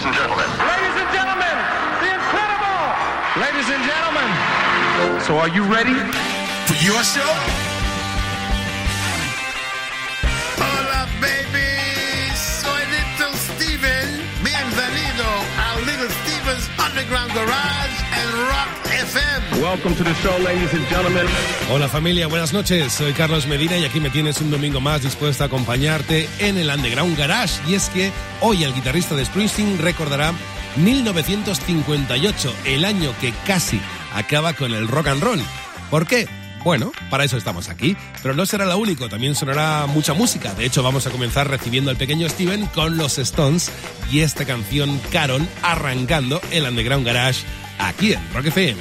and gentlemen. Ladies and gentlemen, the incredible. Ladies and gentlemen. So are you ready for your show? Hola, baby. Soy Little Steven. Bienvenido a Little Steven's Underground Garage and Rock FM. Welcome to the show, ladies and gentlemen. Hola familia, buenas noches. Soy Carlos Medina y aquí me tienes un domingo más dispuesto a acompañarte en el Underground Garage. Y es que hoy el guitarrista de Springsteen recordará 1958, el año que casi acaba con el rock and roll. ¿Por qué? Bueno, para eso estamos aquí, pero no será lo único, también sonará mucha música. De hecho, vamos a comenzar recibiendo al pequeño Steven con los Stones y esta canción Carol, arrancando el Underground Garage aquí en Rock FM.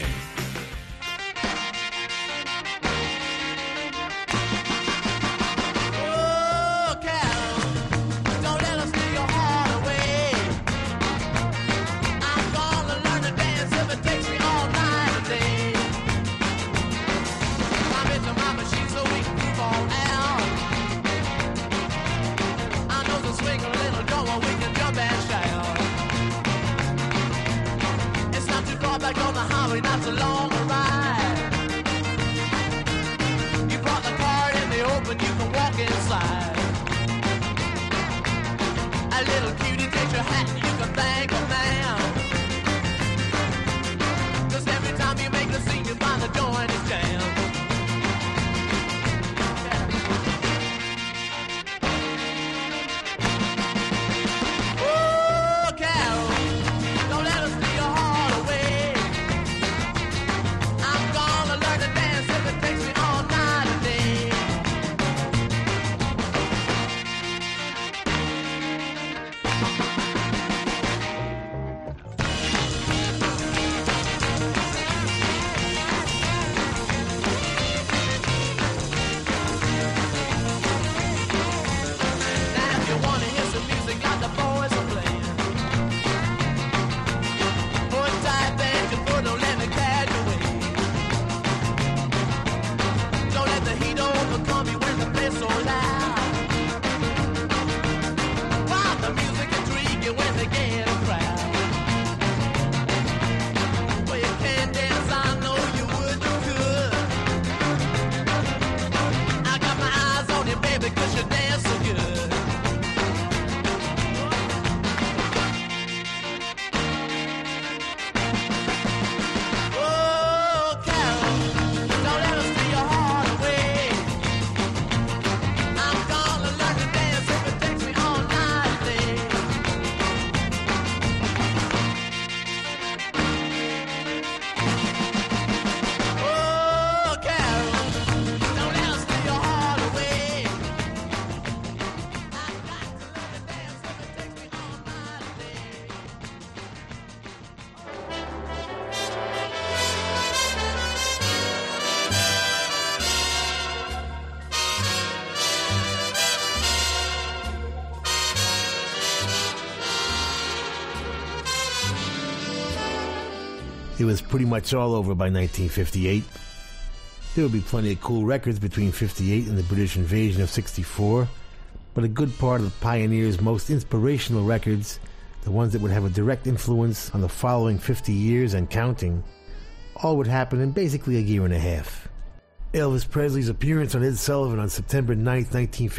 It was pretty much all over by 1958. There would be plenty of cool records between 58 and the British invasion of 64, but a good part of the Pioneers' most inspirational records, the ones that would have a direct influence on the following 50 years and counting, all would happen in basically a year and a half. Elvis Presley's appearance on Ed Sullivan on September 9th,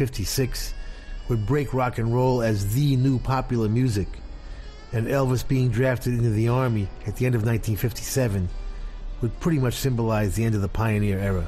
1956 would break rock and roll as the new popular music, and Elvis being drafted into the Army at the end of 1957 would pretty much symbolize the end of the pioneer era.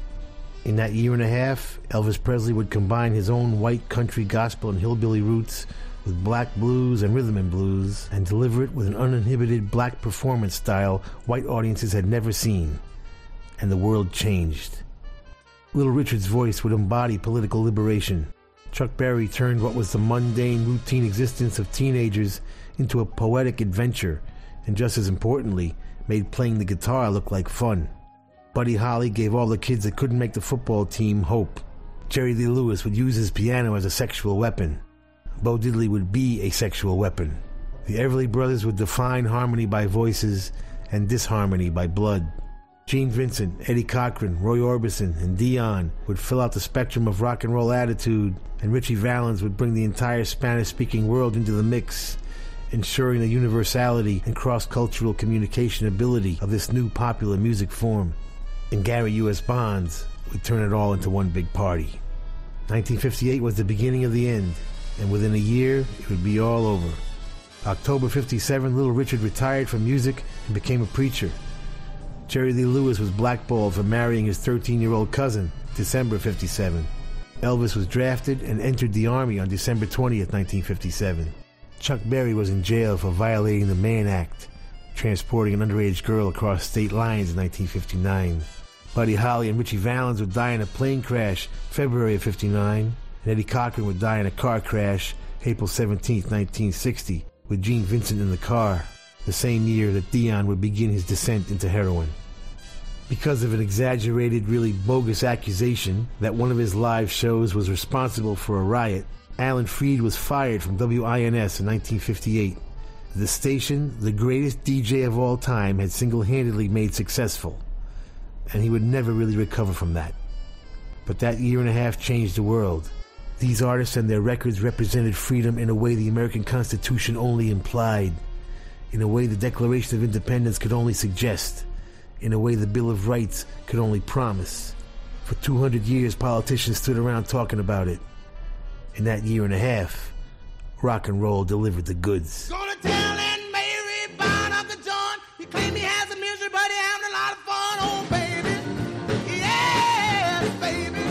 In that year and a half, Elvis Presley would combine his own white country gospel and hillbilly roots with black blues and rhythm and blues and deliver it with an uninhibited black performance style white audiences had never seen. And the world changed. Little Richard's voice would embody political liberation. Chuck Berry turned what was the mundane, routine existence of teenagers into a poetic adventure, and just as importantly, made playing the guitar look like fun. Buddy Holly gave all the kids that couldn't make the football team hope. Jerry Lee Lewis would use his piano as a sexual weapon. Bo Diddley would be a sexual weapon. The Everly Brothers would define harmony by voices and disharmony by blood. Gene Vincent, Eddie Cochran, Roy Orbison, and Dion would fill out the spectrum of rock and roll attitude, and Richie Valens would bring the entire Spanish-speaking world into the mix, ensuring the universality and cross-cultural communication ability of this new popular music form. And Gary U.S. Bonds would turn it all into one big party. 1958 was the beginning of the end, and within a year, it would be all over. October 57, Little Richard retired from music and became a preacher. Jerry Lee Lewis was blackballed for marrying his 13-year-old cousin, December 57. Elvis was drafted and entered the Army on December 20th, 1957. Chuck Berry was in jail for violating the Mann Act, transporting an underage girl across state lines in 1959. Buddy Holly and Richie Valens would die in a plane crash February of 59, and Eddie Cochran would die in a car crash April 17th, 1960, with Gene Vincent in the car, the same year that Dion would begin his descent into heroin. Because of an exaggerated, really bogus accusation that one of his live shows was responsible for a riot, Alan Freed was fired from WINS in 1958. The station, the greatest DJ of all time, had single-handedly made successful, and he would never really recover from that. But that year and a half changed the world. These artists and their records represented freedom in a way the American Constitution only implied, in a way the Declaration of Independence could only suggest, in a way the Bill of Rights could only promise. For 200 years, politicians stood around talking about it. In that year and a half, rock and roll delivered the goods. Gonna tell Aunt Mary about Uncle John. He claimed he has a misery, but he having a lot of fun. Oh, baby. Yes, baby.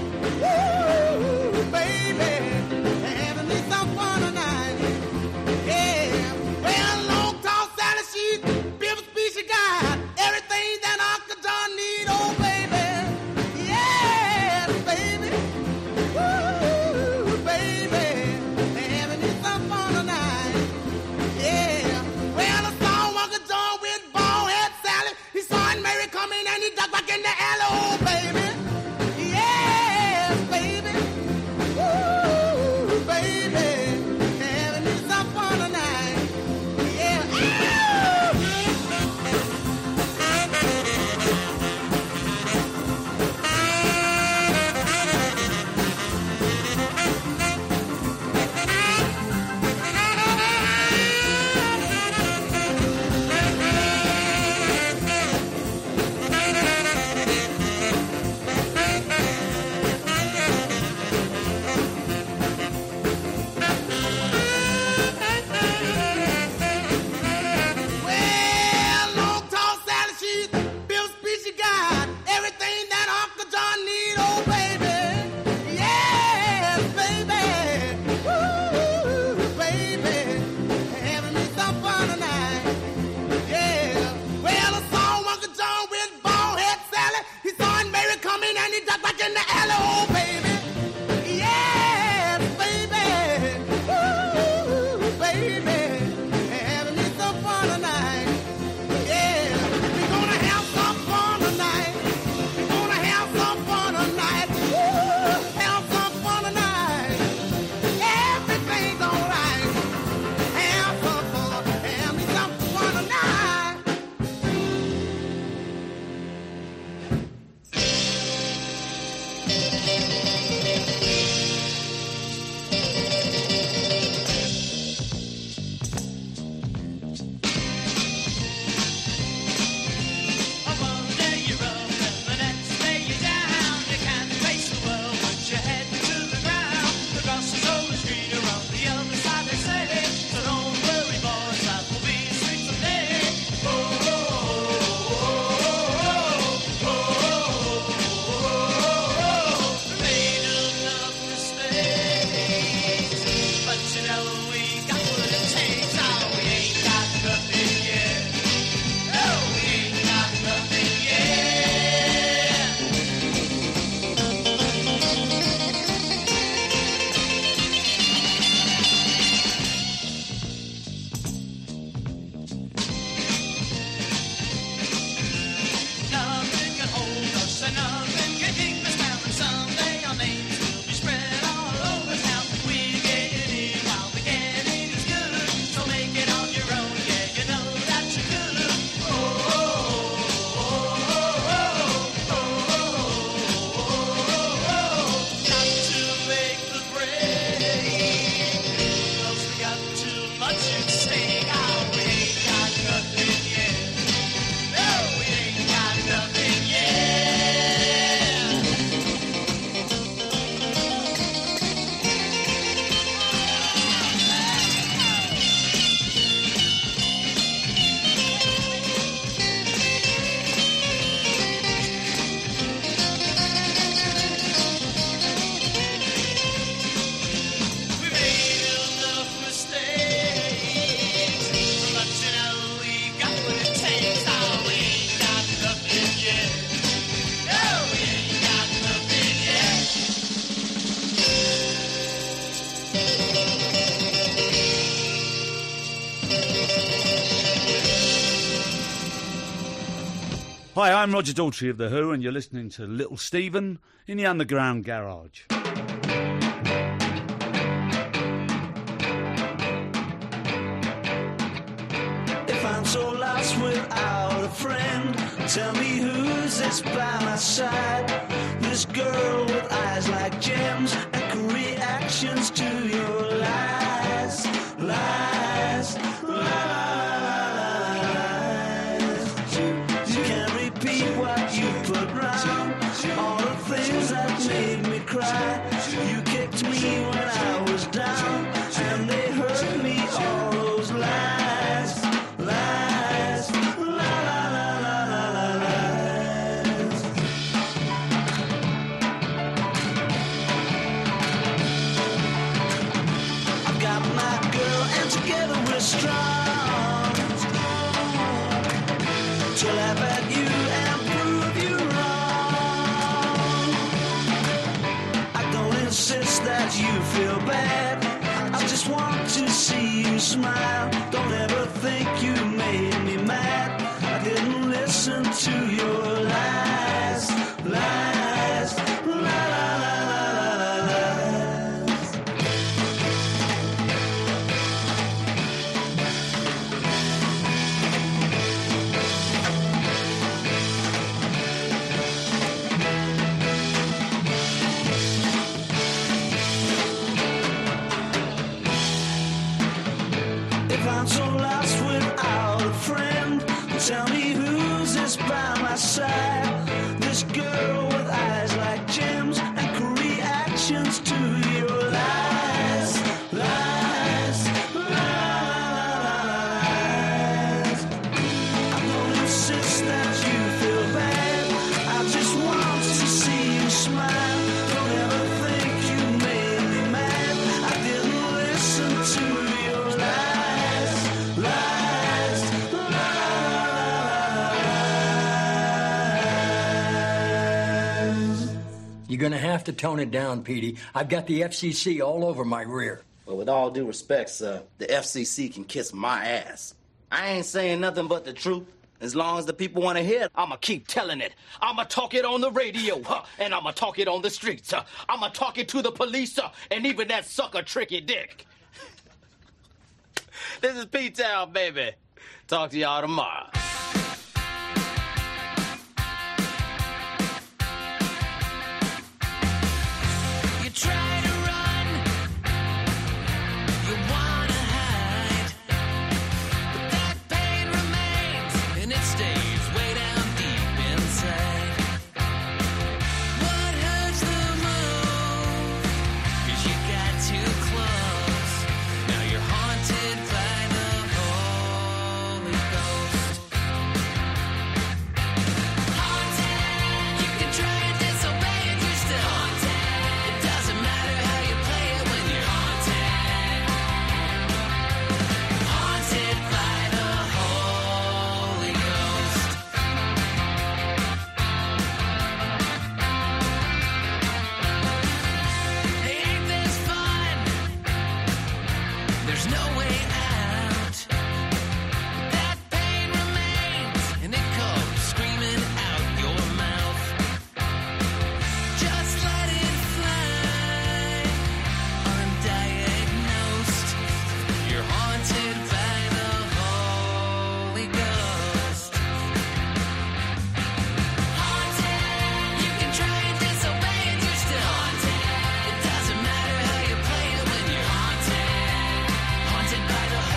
Woo, baby. Having me some fun tonight. Yeah. Well, long, tall, Sally, she's beautiful speech she got. Everything that Uncle John need. Oh, baby. Yes, baby. Woo, baby. Having me some fun tonight. Yeah. Well, I saw Uncle John with bald head Sally. He saw Aunt Mary coming and he ducked back in the alley. Oh, baby. Yes, baby. Woo, baby. Having me some fun tonight. Yeah. Well, long, tall Sally, she's built speech she got. Everything that Uncle John need, oh, baby. Yes, baby. Woo, baby. Having me some fun tonight. Yeah. Well, I saw Uncle John with bald head Sally. He saw Aunt Mary coming and he ducked back in the alley, oh, baby. Yes, baby. Woo, baby. Having me some fun tonight. Yeah, we're gonna have some fun tonight. We're gonna have some fun tonight. Woo, have some fun tonight. Everything's alright. Have some fun. Have me some fun tonight. One day you're up and the next day you're down. You can't face the world once you head to the ground. The grass is always greener on the other side, they say. So don't worry, boys, that will be sweet someday. Oh, oh, oh, oh, oh, oh, oh. Made enough mistakes, but you know we got what it takes. Oh, we ain't got nothing yet. No, we ain't got nothing yet. Nothing can hold us and nothing can keep us down. And someday our names will be spread all over town. We're getting in while we can. heart should sing. Oh, we ain't got nothing yet. No, we ain't got nothing yet. We made enough mistakes, but you know we got what it takes. Oh, we ain't got nothing yet. No, we ain't got nothing yet. Hi, I'm Roger Daltrey of The Who, and you're listening to Little Steven in the Underground Garage. If I'm so lost without a friend, tell me who's this by my side? This girl with eyes like gems and cool reactions to your lies, lies, lies. You can't repeat what you put round, all the things that made me cry. You kicked me when I was down, and they hurt me, all those lies, lies, lies. I've got my girl, and together we're strong, to laugh at you and prove you wrong. I don't insist that you feel bad, I just want to see you smile. Don't ever think you made me mad, I didn't listen to your lies, lies, lies. If I'm so lost without a friend, tell me who's this by my side? This girl with eyes like gems and cool reactions to your lies, lies, lies. I don't insist that you feel bad, I just want to see you smile. Don't ever think you made me mad, I didn't listen to your lies, lies, lies. You're gonna have to tone it down, Petey. I've got the FCC all over my rear. Well, with all due respect, sir, the FCC can kiss my ass. I ain't saying nothing but the truth. As long as the people want to hear it, I'ma keep telling it. I'ma talk it on the radio, and I'ma talk it on the streets. I'ma talk it to the police, and even that sucker Tricky Dick. This is P-Town, baby. Talk to y'all tomorrow. You try to run, you wanna hide, but that pain remains and it stays way down deep inside. What hurts the most? 'Cause you got too close. Now you're haunted by the Holy Ghost. Haunted, you can try and disobey and you're still haunted. It doesn't matter how you play it when you're haunted. Haunted by the Holy Ghost. Ain't this fun? There's no way out. That pain remains and it comes screaming out your mouth. Just let it fly, undiagnosed. You're haunted by the Holy Ghost. Haunted, you can try and disobey and you're still haunted. It doesn't matter how you play it when you're haunted. Haunted by the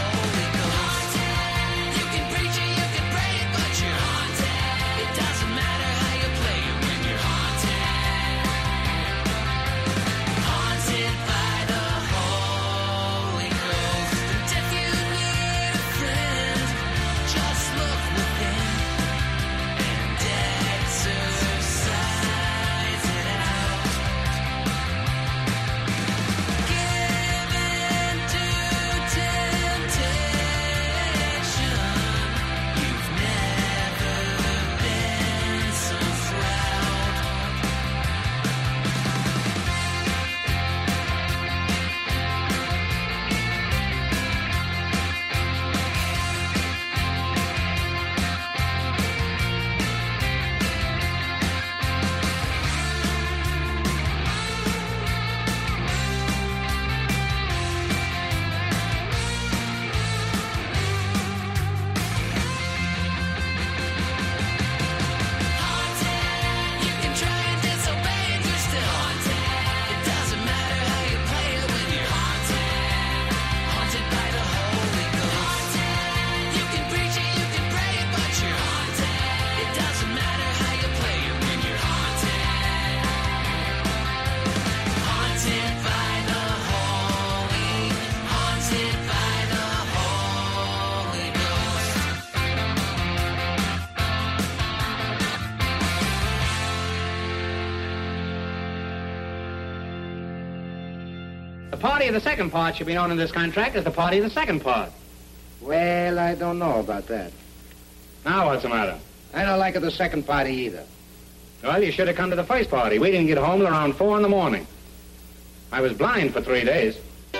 party of the second part should be known in this contract as the party of the second part. Well, I don't know about that. Now what's the matter? I don't like it the second party either. Well, you should have come to the first party. We didn't get home till around 4 in the morning. I was blind for 3 days.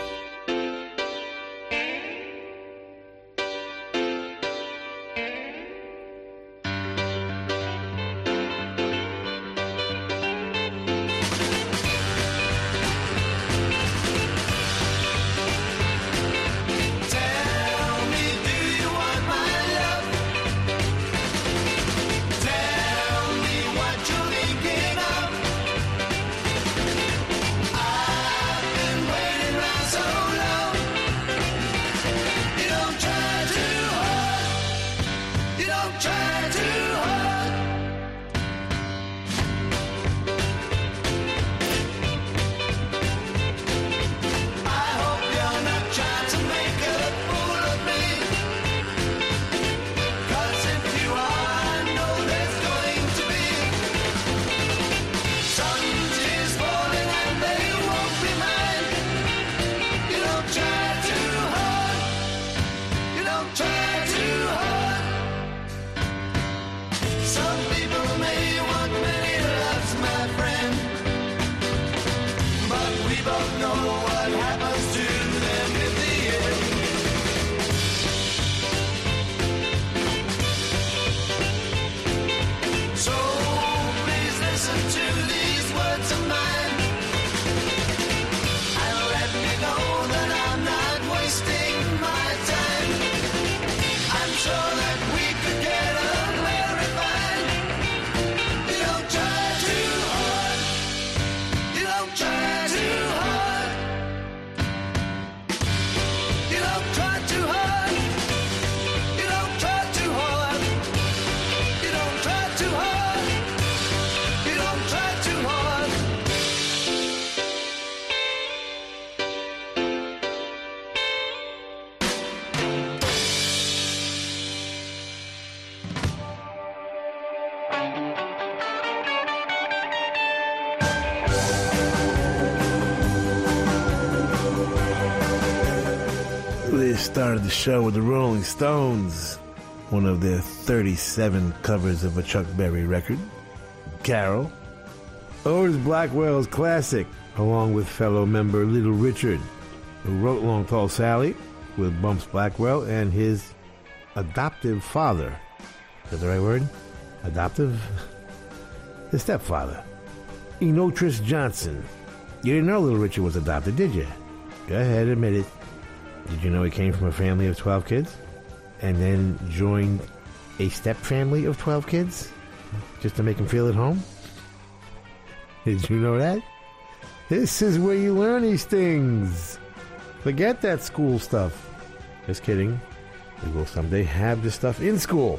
They started the show with the Rolling Stones, one of their 37 covers of a Chuck Berry record, Carol. Otis Blackwell's classic, along with fellow member Little Richard, who wrote Long Tall Sally with Bumps Blackwell and his adoptive father. Is that the right word? Adoptive? His stepfather, Enotris Johnson. You didn't know Little Richard was adopted, did you? Go ahead, admit it. Did you know he came from a family of 12 kids? And then joined a step family of 12 kids? Just to make him feel at home? Did you know that? This is where you learn these things. Forget that school stuff. Just kidding. We will someday have this stuff in school.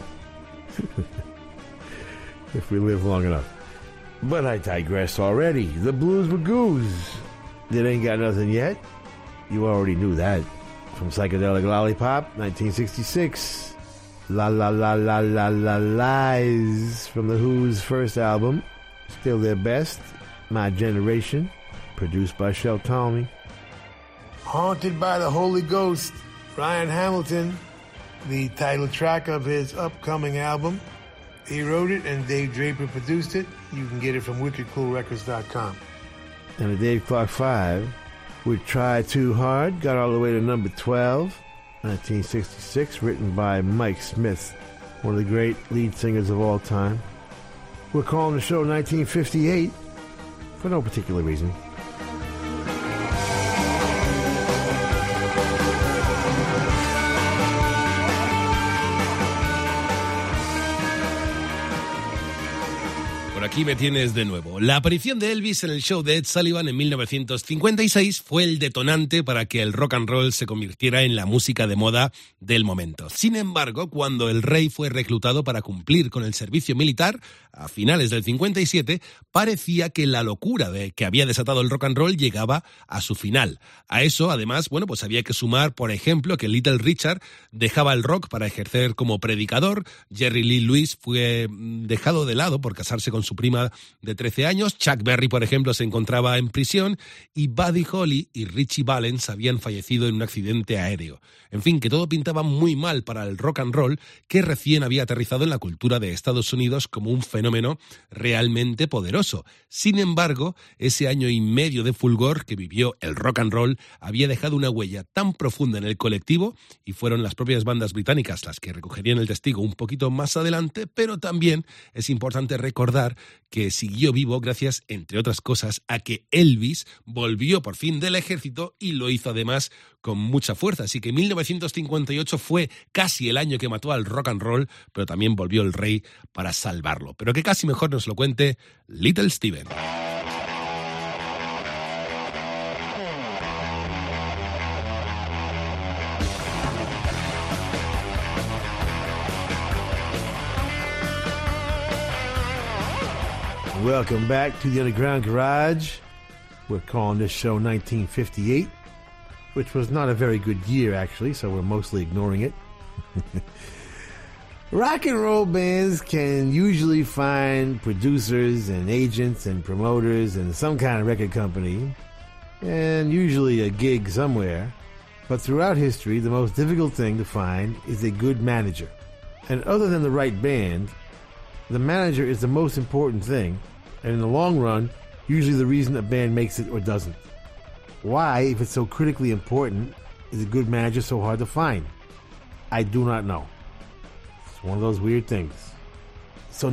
If we live long enough. But I digress already. The Blues Magoos. That ain't got nothing yet. You already knew that. From Psychedelic Lollipop, 1966. La La La La La La Lies from The Who's first album. Still their best. My Generation. Produced by Shel Talmy. Haunted by the Holy Ghost. Ryan Hamilton. The title track of his upcoming album. He wrote it and Dave Draper produced it. You can get it from wickedcoolrecords.com. And a Dave Clark 5 with Try Too Hard got all the way to number 12, 1966, written by Mike Smith, one of the great lead singers of all time. We're calling the show 1958 for no particular reason. Aquí me tienes de nuevo. La aparición de Elvis en el show de Ed Sullivan en 1956 fue el detonante para que el rock and roll se convirtiera en la música de moda del momento. Sin embargo, cuando el rey fue reclutado para cumplir con el servicio militar, a finales del 57, parecía que la locura que había desatado el rock and roll llegaba a su final. A eso, además, pues había que sumar, por ejemplo, que Little Richard dejaba el rock para ejercer como predicador, Jerry Lee Lewis fue dejado de lado por casarse con su prima de 13 años. Chuck Berry, por ejemplo, se encontraba en prisión y Buddy Holly y Richie Valens habían fallecido en un accidente aéreo. En fin, que todo pintaba muy mal para el rock and roll, que recién había aterrizado en la cultura de Estados Unidos como un fenómeno realmente poderoso. Sin embargo, ese año y medio de fulgor que vivió el rock and roll había dejado una huella tan profunda en el colectivo, y fueron las propias bandas británicas las que recogerían el testigo un poquito más adelante, pero también es importante recordar que siguió vivo gracias, entre otras cosas, a que Elvis volvió por fin del ejército y lo hizo además con mucha fuerza. Así que 1958 fue casi el año que mató al rock and roll, pero también volvió el rey para salvarlo. Pero que casi mejor nos lo cuente Little Steven. Welcome back to the Underground Garage. We're calling this show 1958, which was not a very good year, actually, so we're mostly ignoring it. Rock and roll bands can usually find producers and agents and promoters and some kind of record company, and usually a gig somewhere. But throughout history, the most difficult thing to find is a good manager. And other than the right band, the manager is the most important thing, and in the long run, usually the reason a band makes it or doesn't. Why, if it's so critically important, is a good manager so hard to find? I do not know. It's one of those weird things. So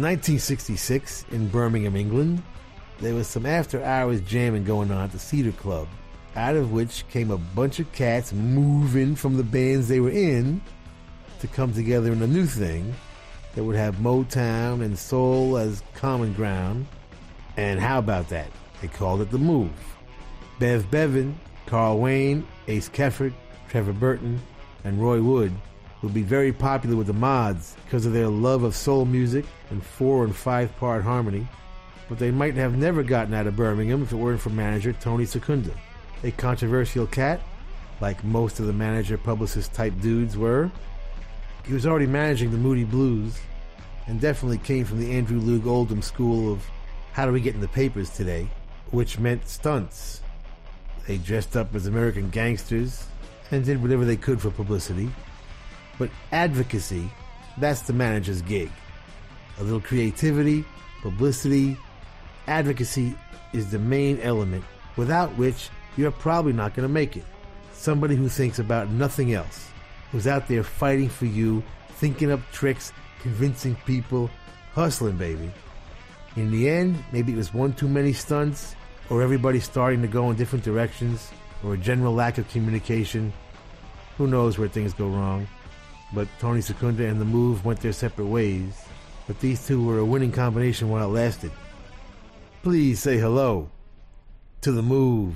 1966, in Birmingham, England, there was some after-hours jamming going on at the Cedar Club, out of which came a bunch of cats moving from the bands they were in to come together in a new thing that would have Motown and soul as common ground. And how about that? They called it The Move. Bev Bevan, Carl Wayne, Ace Kefford, Trevor Burton, and Roy Wood would be very popular with the mods because of their love of soul music and 4- and 5-part harmony, but they might have never gotten out of Birmingham if it weren't for manager Tony Secunda, a controversial cat, like most of the manager-publicist type dudes were. He was already managing the Moody Blues and definitely came from the Andrew Loog Oldham school of how do we get in the papers today, which meant stunts. They dressed up as American gangsters and did whatever they could for publicity. But advocacy, that's the manager's gig. A little creativity, publicity, advocacy is the main element, without which you're probably not going to make it. Somebody who thinks about nothing else, who's out there fighting for you, thinking up tricks, convincing people, hustling, baby. In the end, maybe it was one too many stunts, or everybody starting to go in different directions, or a general lack of communication. Who knows where things go wrong. But Tony Secunda and The Move went their separate ways. But these two were a winning combination while it lasted. Please say hello to The Move.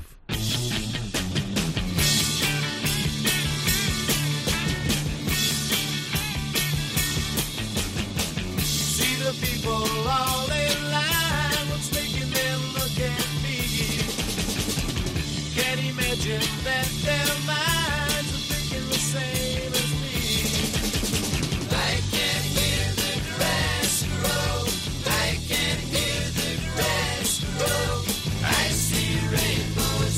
See the people all in line. What's making them look at me? Can't imagine that their minds are thinking the same as me. I can hear the grass grow. I can hear the grass grow. I see rainbows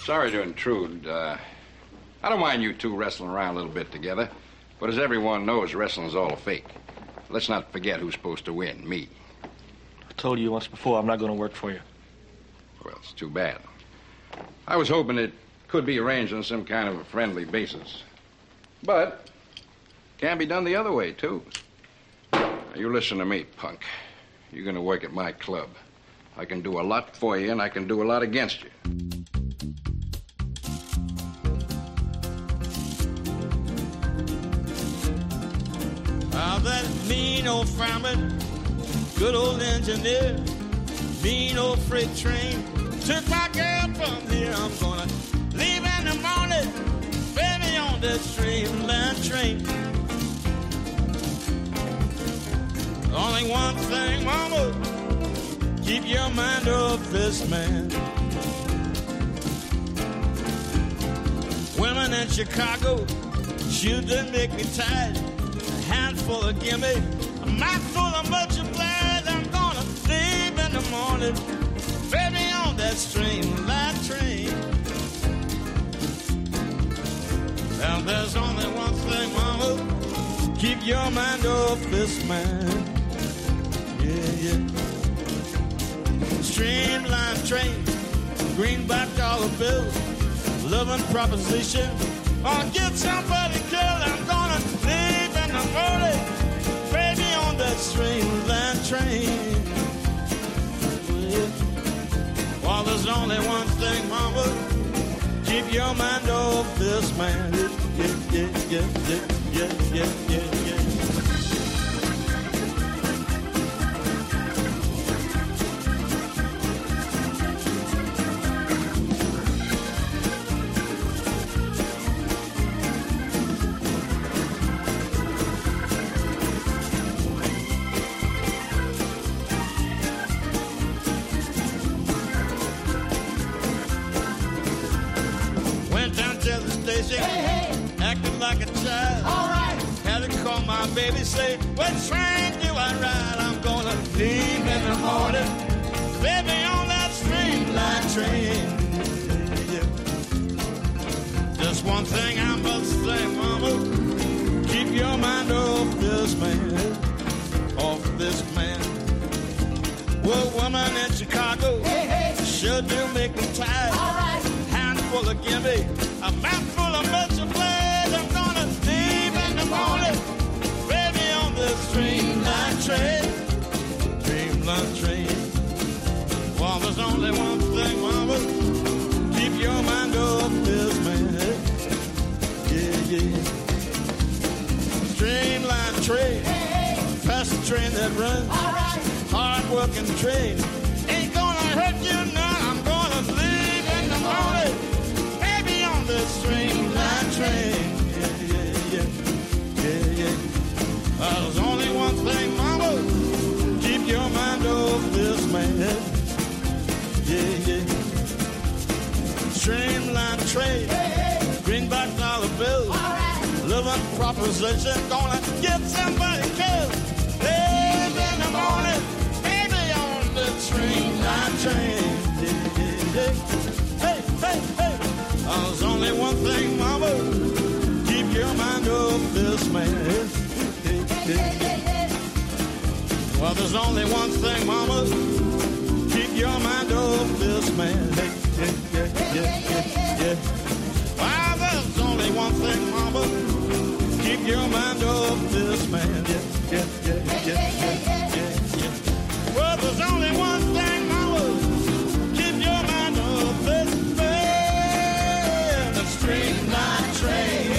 Sorry to intrude. I don't mind you two wrestling around a little bit together, but as everyone knows, wrestling's all a fake. Let's not forget who's supposed to win, me. I told you once before, I'm not going to work for you. Well, it's too bad. I was hoping it could be arranged on some kind of a friendly basis. But can be done the other way, too. Now, you listen to me, punk. You're going to work at my club. I can do a lot for you, and I can do a lot against you. Oh, that mean old fireman, good old engineer, mean old freight train, took my girl from here. I'm gonna leave in the morning, baby, on that streamline train. Only one thing, mama, keep your mind off this man. Women in Chicago, shoot them make me tired. A handful of gimme, a mouthful of much obliged. I'm gonna leave in the morning, baby, on that streamline train. Now there's only one thing, mama, keep your mind off this man. Yeah, yeah. Streamline train, greenback dollar bills, loving proposition, or get somebody killed. I'm gonna leave in the morning, baby, on that streamline train. Yeah. Well, there's only one thing, mama, keep your mind off this man. Yeah. Acting like a child. All right. Had to call my baby, say, what train do I ride? I'm gonna leave in the morning, baby, on that streamline train. Yeah. Just one thing I must say, mama, keep your mind off this man, off this man. Well, woman in Chicago, sure do make me tired. All right. Handful of gimme, a mouthful of much of blood. I'm gonna leave in the morning, baby, on the streamline train. Streamline train. Well, there's only one thing, mama, keep your mind off this man. Yeah. Streamline train, fast train that runs. All right. Hard working train, ain't gonna hurt you none. I'm gonna leave in the morning, baby, on the streamline train. Yeah. There's only one thing, mama, keep your mind off this man. Yeah. Streamline train, greenback dollar bills, living proposition, gonna get somebody killed. Live in the morning, baby, on the streamline train. Hey. There's only one thing, mama, keep your mind off this man. Well, there's only one thing, mama, keep your mind off this man. Yeah. Well, there's only one thing, mama, keep your mind off this man. Yeah. Well, there's only one thing, mama, keep your mind off this man. The streamline train.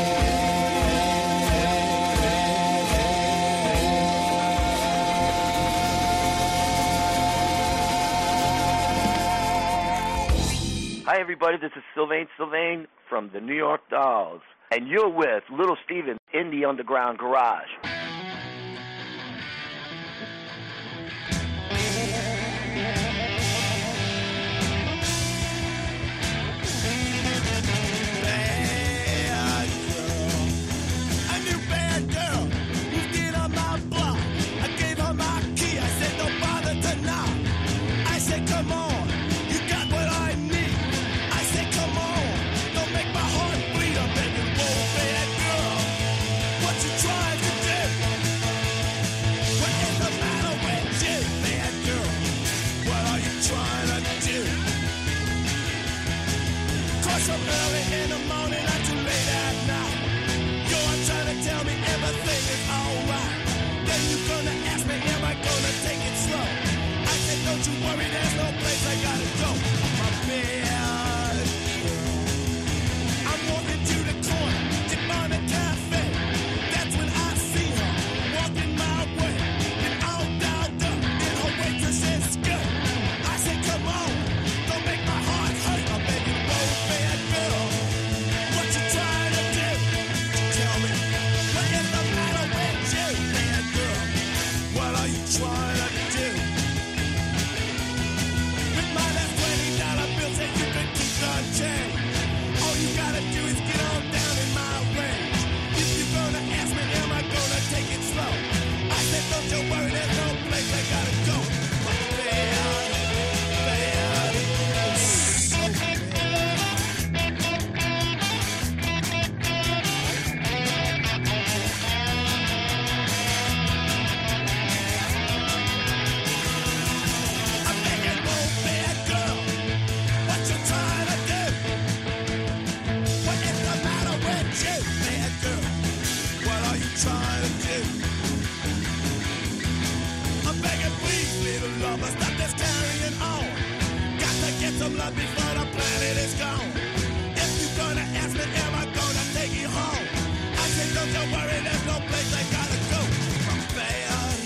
Hi, everybody. This is Sylvain from the New York Dolls. And you're with Little Steven in the Underground Garage. Come on, you got what I need. I said, come you worry, there's no place I gotta go. My bad girl. I'm walking to the corner, dip on a cafe. That's when I see her walking my way. And all dolled up in her waitress's skirt. I say, come on, don't make my heart hurt. I'm begging, whoa, bad girl. What you trying to do? Tell me, what is the matter with you, bad girl? What are you trying to do? With my last $20 bill, say you can keep the change. All you gotta do is get on down in my range. If you're gonna ask me, am I gonna take it slow? I said, don't you worry, there's no place I gotta go. But bad, bad, so bad. I'm begging, whoa, bad girl, what you trying to do? What is the matter with you, bad girl? What are you trying to do? I'm begging, please, little lover, stop this carrying on. Got to get some love before the planet is gone. If you're gonna ask me, am I gonna take you home? I say, don't you worry, there's no place I gotta go. I'm bad.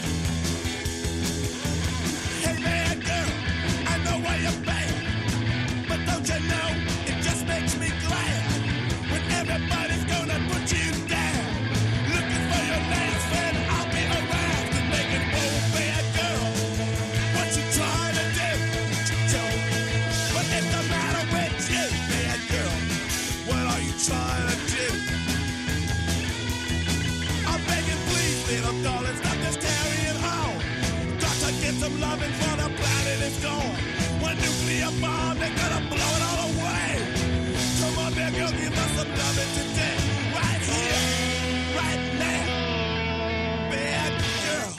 Hey, bad girl, I know why you're bad. But don't you know, it just makes me glad when everybody's gonna put you down. Looking for your last friend, I'll be around. To make it whoa, bad girl. What you trying to do? Tell me, what is the matter with you, bad girl? What are you trying to do? I'm begging, please, little darling, stop this carrying on. Got to get some loving for the planet is gone. One nuclear bomb, they're gonna blow it all away. Come on, bad girl, give us some loving today. Right here, right now. Bad girl.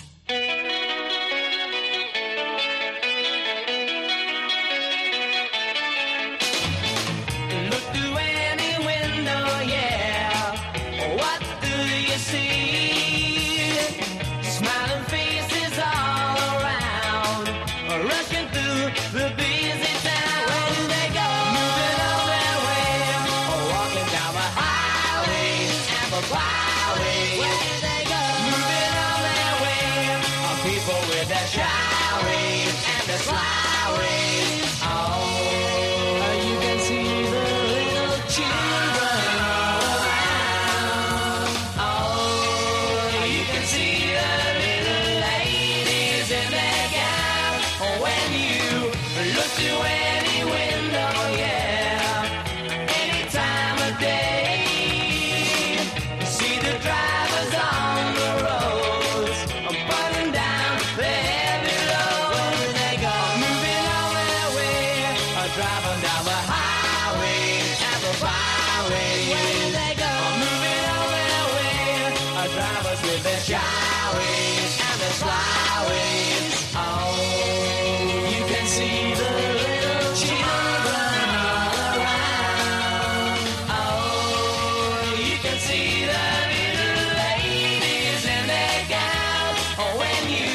Look through any window, yeah. What do you see? Smiling faces all around, rushing through the busy town. Where do they go? Moving on their way, walking down the highways and the byways. Where do they go? Moving on their way, people with their shy ways and their sly ways. Oh, you can see the little children all around. Oh, you can see the little ladies in their gown. When you look through any window, yeah, any time of day, see the drivers on the roads, putting down their heavy loads. Where do they go? Moving on their way, driving down the highways and the byways. Where do they go? Moving on their way, drivers with their shy ways and their sly ways. Oh, you can see the little children all around. Oh, you can see the little ladies in their gown. When you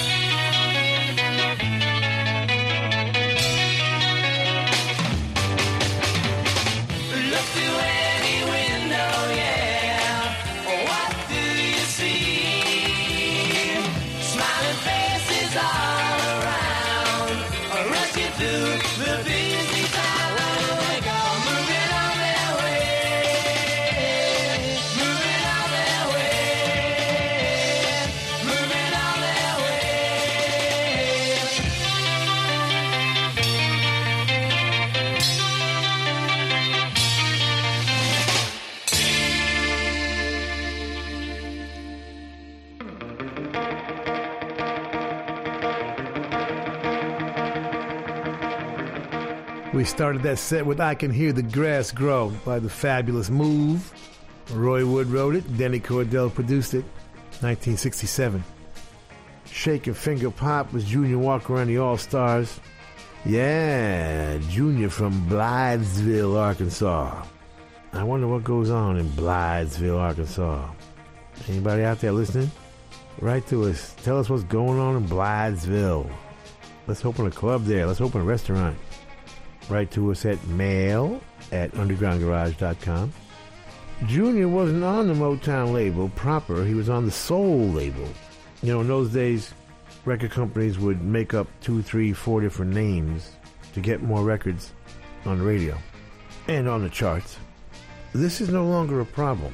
look through any window, yeah, what do you see? Smiling faces all around, rushing through the busy town. Where do they go? Moving on their way, moving on their way, moving on their way. We started that set with I Can Hear the Grass Grow by the Fabulous Move. Roy Wood wrote it, Denny Cordell produced it, 1967. Shake Your Finger Pop was Junior Walker and the All-Stars. Yeah, Junior from Blythesville, Arkansas. I wonder what goes on in Blythesville, Arkansas. Anybody out there listening? Write to us. Tell us what's going on in Blythesville. Let's open a club there. Let's open a restaurant. Write to us at mail@undergroundgarage.com. Junior wasn't on the Motown label proper. He was on the Soul label. You know, in those days, record companies would make up 2, 3, 4 different names to get more records on the radio and on the charts. This is no longer a problem.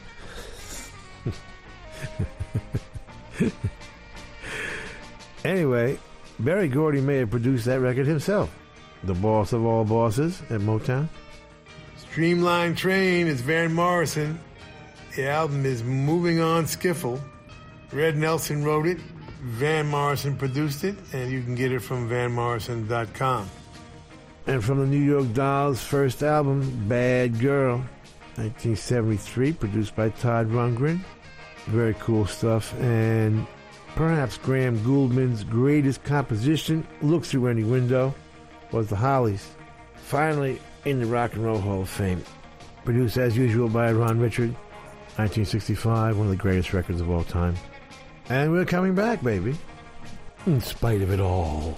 Anyway, Berry Gordy may have produced that record himself. The boss of all bosses at Motown. Streamline Train is Van Morrison. The album is Moving On Skiffle. Red Nelson wrote it. Van Morrison produced it, and you can get it from vanmorrison.com. And from the New York Dolls' first album, Bad Girl, 1973, produced by Todd Rundgren. Very cool stuff. And perhaps Graham Gouldman's greatest composition, Look Through Any Window, was The Hollies. Finally, in the Rock and Roll Hall of Fame. Produced as usual by Ron Richard, 1965, one of the greatest records of all time. And we're coming back, baby, in spite of it all.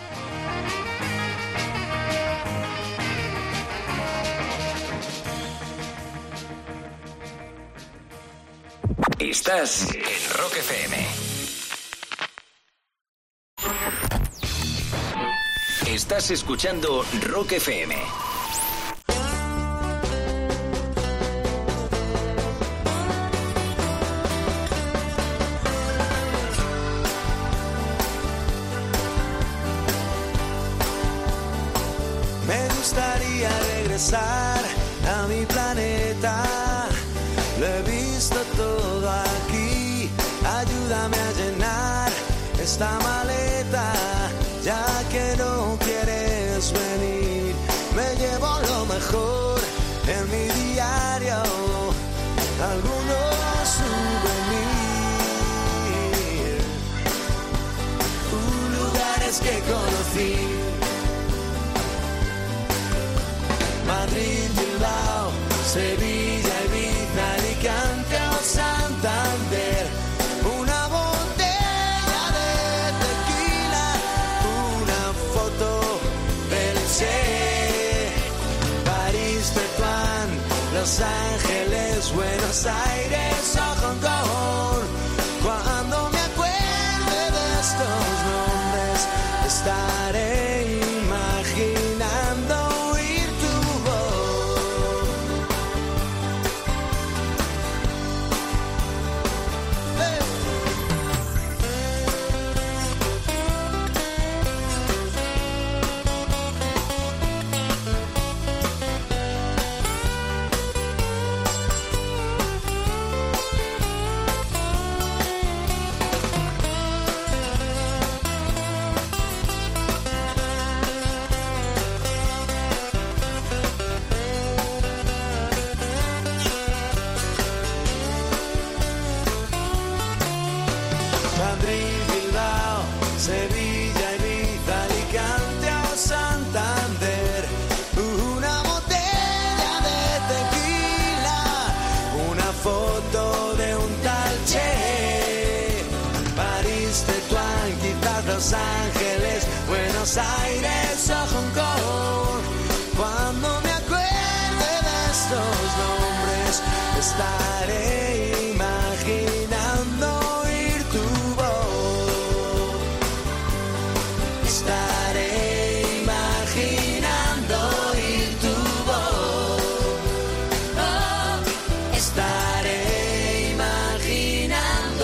Estás en Rock FM. Estás escuchando Rock FM. Me gustaría regresar a mi planeta. Lo he visto todo aquí. Ayúdame a llenar esta maleta. Ya que no quieres venir, me llevo lo mejor en mi diario. Algunos souvenir. Lugares que conocí. Madrid, Bilbao, Sevilla, Ibiza, Alicante o Santander. Una botella de tequila, una foto del Che. París, Tetuán, Los Ángeles, Buenos Aires o Hong Kong. Cuando me acuerde de estos nombres, estaré imaginando oír tu voz. Madrid, Bilbao, Sevilla, Ibiza, Alicante o Santander. Una botella de tequila, una foto de un tal Che. París, Tetuán, quizás Los Ángeles, Buenos Aires o Hong Kong. Cuando me acuerde de estos nombres, estaré imaginando oír tu voz. Estaré imaginando oír tu voz. Oh, estaré imaginando.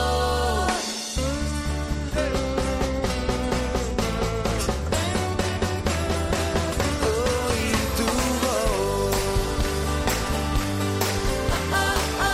Oír tu voz. Oh, oh,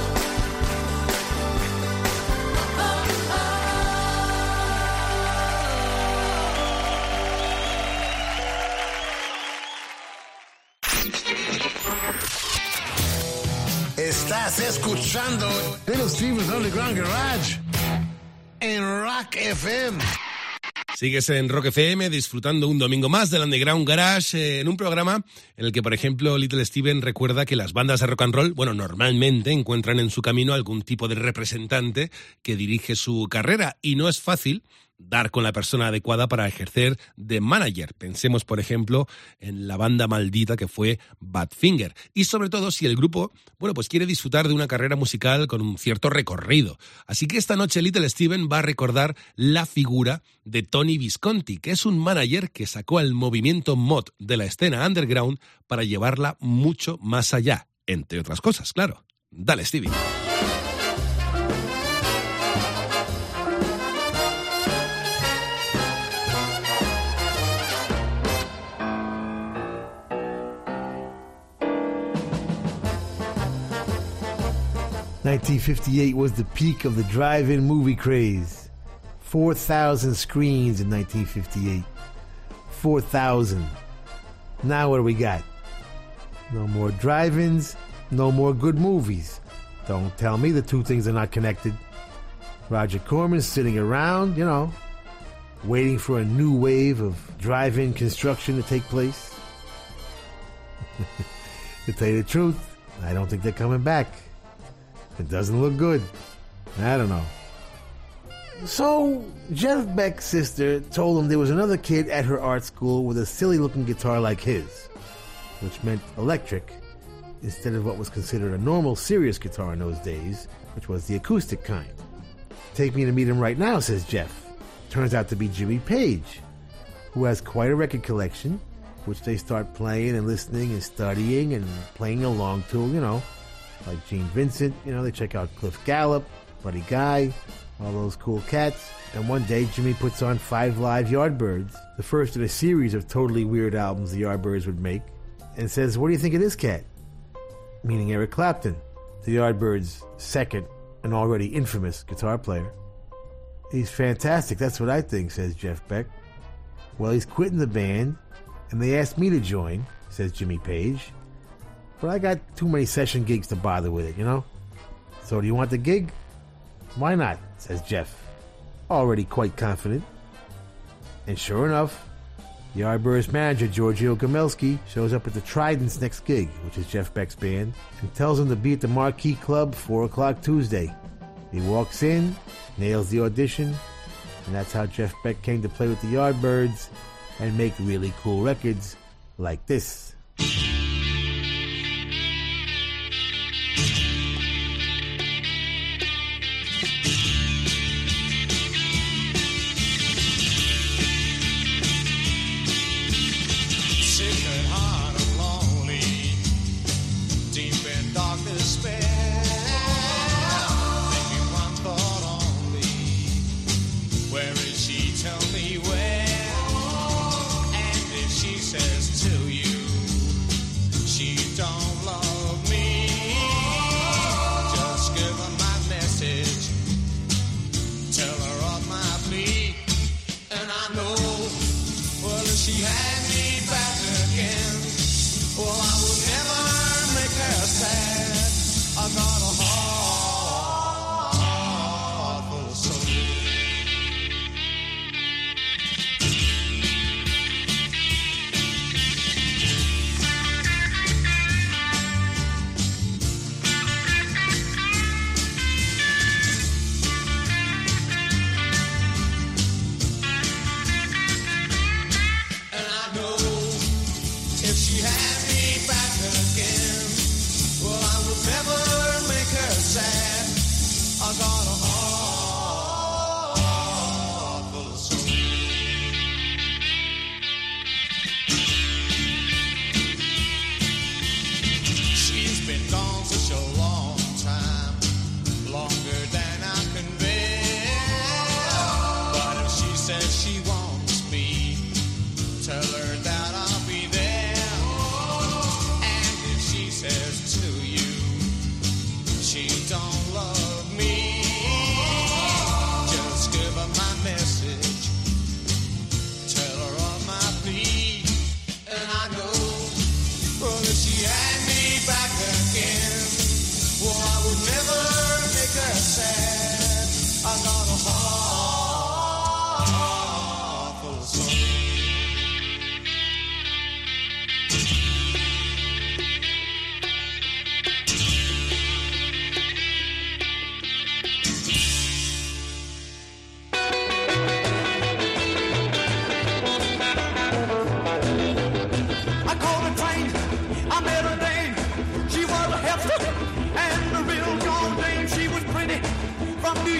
Estás escuchando Little Steven's Underground Garage en Rock FM. Sigues en Rock FM disfrutando un domingo más del Underground Garage en un programa en el que, por ejemplo, Little Steven recuerda que las bandas de rock and roll, bueno, normalmente encuentran en su camino algún tipo de representante que dirige su carrera y no es fácil dar con la persona adecuada para ejercer de manager. Pensemos, por ejemplo, en la banda maldita que fue Badfinger. Y sobre todo si el grupo, bueno, pues quiere disfrutar de una carrera musical con un cierto recorrido. Así que esta noche Little Steven va a recordar la figura de Tony Visconti, que es un manager que sacó al movimiento mod de la escena underground para llevarla mucho más allá, entre otras cosas, claro. Dale, Stevie. 1958 was the peak of the drive-in movie craze. 4,000 screens in 1958. 4,000. Now what do we got? No more drive-ins, no more good movies. Don't tell me the two things are not connected. Roger Corman's sitting around, you know, waiting for a new wave of drive-in construction to take place. To tell you the truth, I don't think they're coming back. It doesn't look good. I don't know. So, Jeff Beck's sister told him there was another kid at her art school with a silly-looking guitar like his, which meant electric, instead of what was considered a normal, serious guitar in those days, which was the acoustic kind. Take me to meet him right now, says Jeff. Turns out to be Jimmy Page, who has quite a record collection, which they start playing and listening and studying and playing along to, you know, like Gene Vincent, you know, they check out Cliff Gallup, Buddy Guy, all those cool cats. And one day, Jimmy puts on 5 Live Yardbirds, the first in a series of totally weird albums the Yardbirds would make, and says, "What do you think of this cat?" Meaning Eric Clapton, the Yardbirds' second and already infamous guitar player. "He's fantastic, that's what I think," says Jeff Beck. "Well, he's quitting the band, and they asked me to join," says Jimmy Page. "But I got too many session gigs to bother with it, you know? So do you want the gig?" "Why not?" says Jeff, already quite confident. And sure enough, the Yardbirds manager, Giorgio Gamelski, shows up at the Trident's next gig, which is Jeff Beck's band, and tells him to be at the Marquee Club 4 o'clock Tuesday. He walks in, nails the audition, and that's how Jeff Beck came to play with the Yardbirds and make really cool records like this.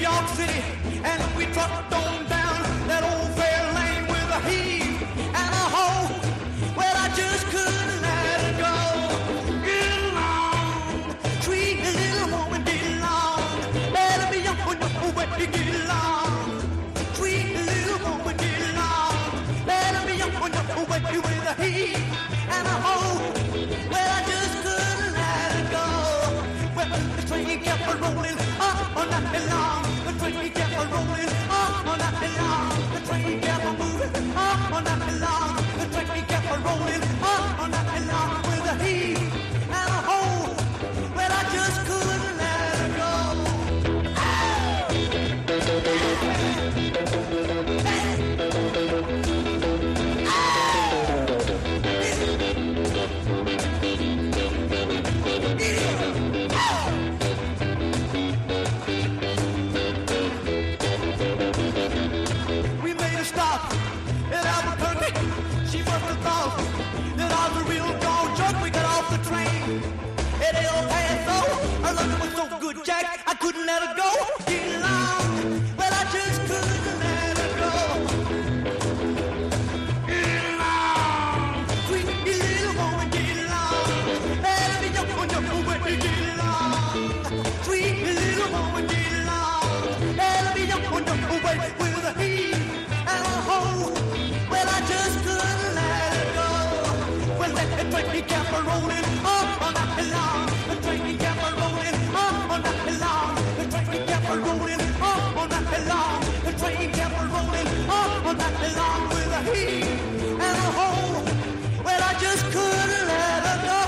York City, and we trucked on down that old fair lane with a heave and a hoe. Well, I just couldn't let it go. Get along, sweet little woman, get along. Better be young, but you get along. Sweet little woman, get along. Better be young, but you with a heave and a hoe. Well, I just couldn't let it go. Well, the train kept a rolling all night long. The train kept a rolling all night long. The train kept a moving all night long. The train kept a rolling all night long with a heave and a hoe. Well, I just couldn't let it go. We made a stop in Albuquerque. She must have thought that I was a real dog jerk. We got off the train at El Paso. Her love was so good, Jack, I couldn't let her go. Get along, well, I just couldn't let her go. Get along, sweet little woman, get along. Let me know when you get along. Sweet little woman, get along. Let me know when you with a heave and a hoe. Well, I just couldn't let it go. Well, that train kept a rolling all night long. The train kept a rolling all night long. The train kept a rolling all night long. The train kept a rolling all night long with a heave and a hoe. Well, I just couldn't let her go.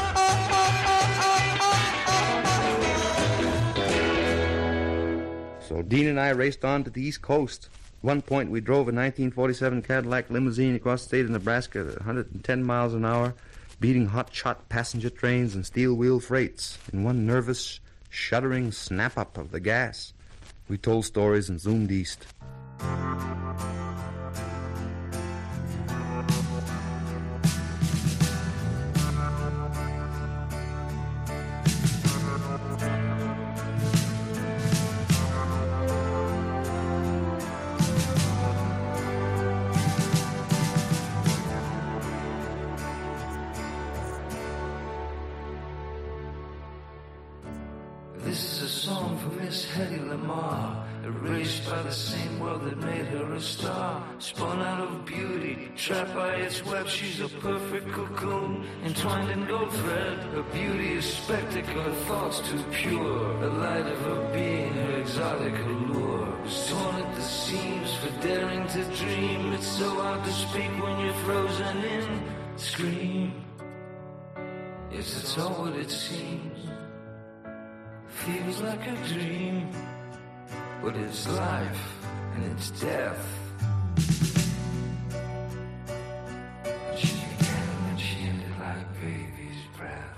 So Dean and I raced on to the East Coast. At one point, we drove a 1947 Cadillac limousine across the state of Nebraska at 110 miles an hour, beating hot-shot passenger trains and steel-wheel freights in one nervous, shuddering snap-up of the gas. We told stories and zoomed east. This is a song for Miss Hedy Lamarr, erased by the same world that made her a star. Spun out of beauty, trapped by its web, she's a perfect cocoon, entwined in gold thread. Her beauty is spectacle, her thoughts too pure. The light of her being, her exotic allure, was torn at the seams for daring to dream. It's so hard to speak when you're frozen in. Scream. Yes, it's all what it seems. Feels like a dream, but it's life and it's death. And she began and she ended like baby's breath.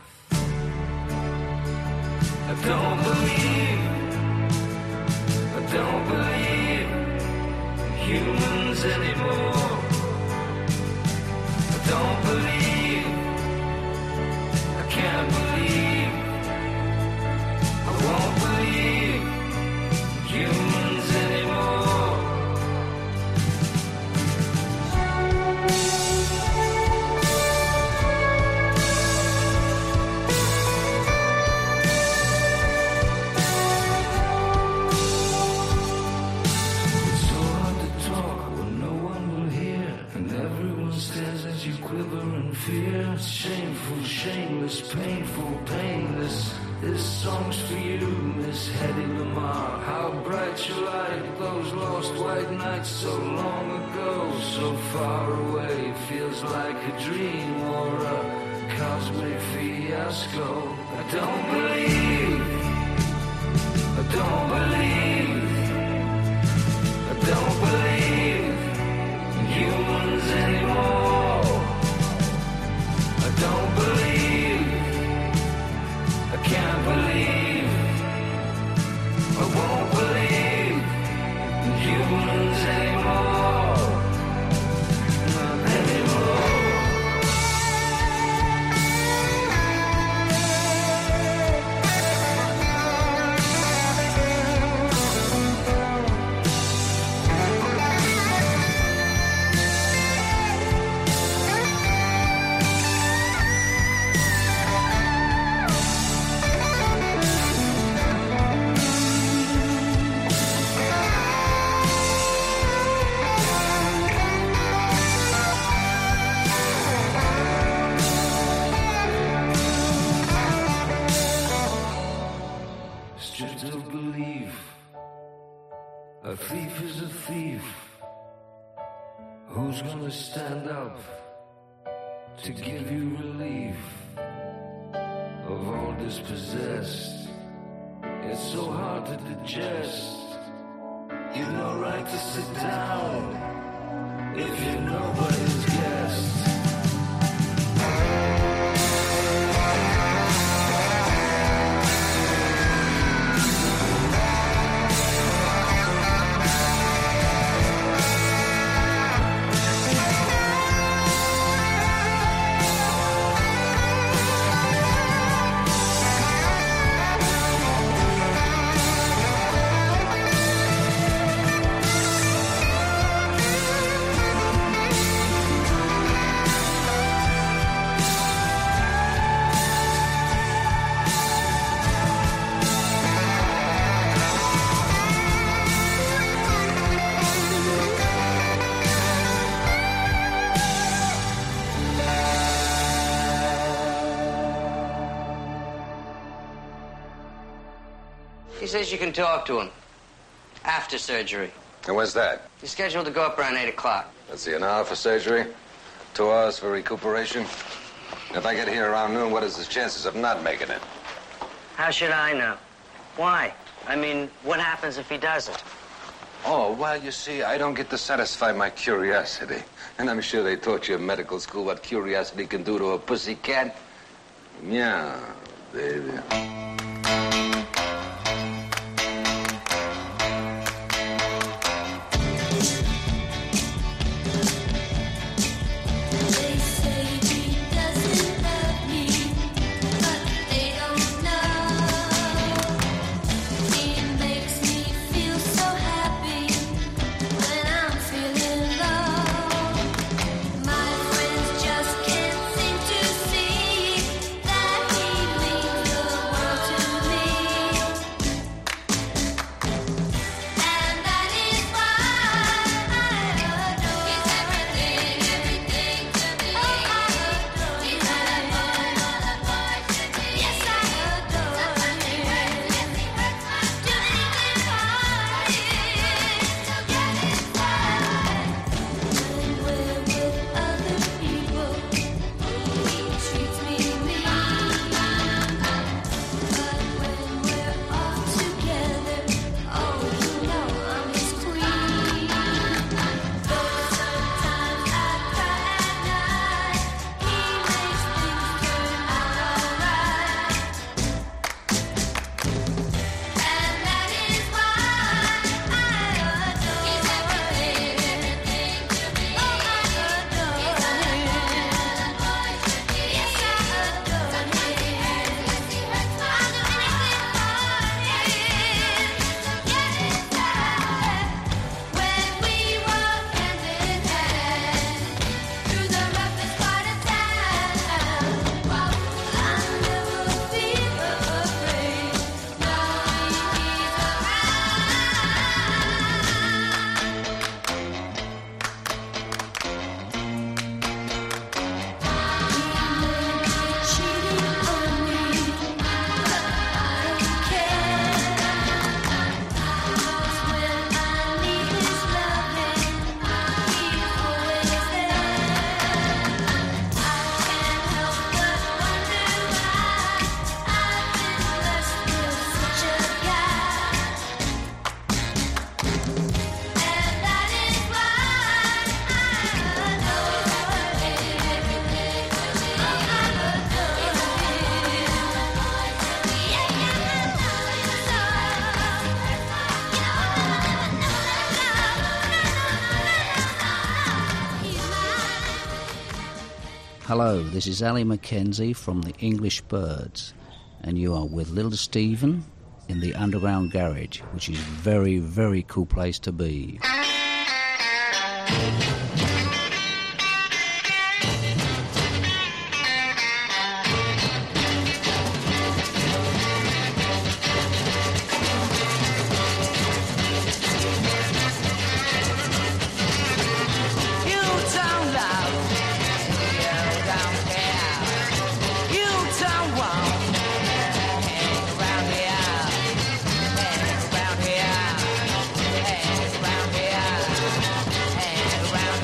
I don't believe in humans anymore. I don't believe, I can't believe, I won't believe humans anymore. It's so hard to talk when no one will hear, and everyone stares as you quiver in fear. It's shameful, shameless, painful, painless. This song's for you, Miss Hedy Lamarr. How bright your light, those lost white nights so long ago, so far away, feels like a dream or a cosmic fiasco. I don't believe, I don't believe, I don't believe in humans anymore. I don't believe, I can't believe, I won't believe in humans anymore. Not anymore. Who's gonna stand up to give you relief of all dispossessed? It's so hard to digest. You've no right to sit down if you're nobody's guest. He says you can talk to him after surgery. And when's that? He's scheduled to go up around 8 o'clock. Let's see, an hour for surgery, 2 hours for recuperation. If I get here around noon, what is the chances of not making it? How should I know? Why? I mean, what happens if he doesn't? Oh, well, you see, I don't get to satisfy my curiosity. And I'm sure they taught you in medical school what curiosity can do to a pussycat. Yeah, baby. They say he doesn't love me, but they don't know. He makes me feel so happy when I'm feeling low. My friends just can't seem to see that he means the world to me. And that is why I adore. He's everything, everything to me. Oh, I adore. He's all a boy should be. Yes, I adore. Sometimes he hurts, yes, he hurts my do anything for him to get his way. When we're with other people, he treats me mean. But when we're all together, oh, you know I'm his queen. Though sometimes I cry at night, he makes things turn out alright. And that is why I adore. He's everything, everything to me. Oh, I adore. He's all a boy should be. Yes, I adore. Sometimes he hurts, yes, he hurts my I'll do anything for him to get his way. When we walk hand in hand through the roughest part of town, I never feel afraid knowing he's cheating on me, but I don't care. 'Cause when I need his loving, he's always there. I can't help but wonder why I've been blessed with such a guy. And that is why I adore everything to me. Oh, I adore him. Yeah, yeah, Hello, this is Ali Mackenzie from the English Birds, and you are with Little Stephen in the Underground Garage, which is a very, very cool place to be. You don't love, you don't care, you don't want hang around here, hang around here, hang around here, hang around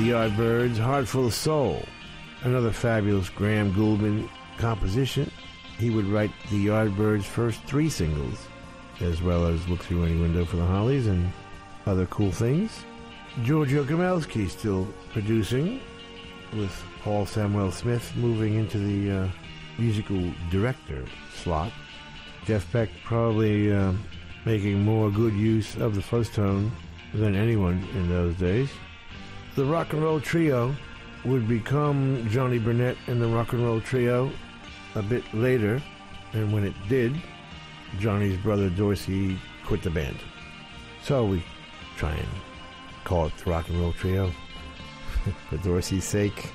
the Yardbirds, Heart Full of Soul, another fabulous Graham Gouldman composition. He would write the Yardbirds' first 3 singles, as well as Look Through Any Window for the Hollies and other cool things. Giorgio Kamelski still producing, with Paul Samuel Smith moving into the musical director slot. Jeff Beck probably making more good use of the fuzz tone than anyone in those days. The Rock and Roll Trio would become Johnny Burnett and the Rock and Roll Trio a bit later, and when it did, Johnny's brother Dorsey quit the band. So we try and call it the Rock and Roll Trio for Dorsey's sake.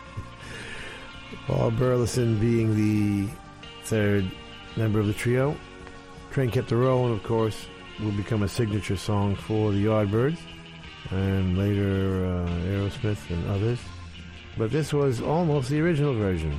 Paul Burleson being the third member of the trio. Train Kept a Rollin', of course, will become a signature song for the Yardbirds, and later Aerosmith and others. But this was almost the original version.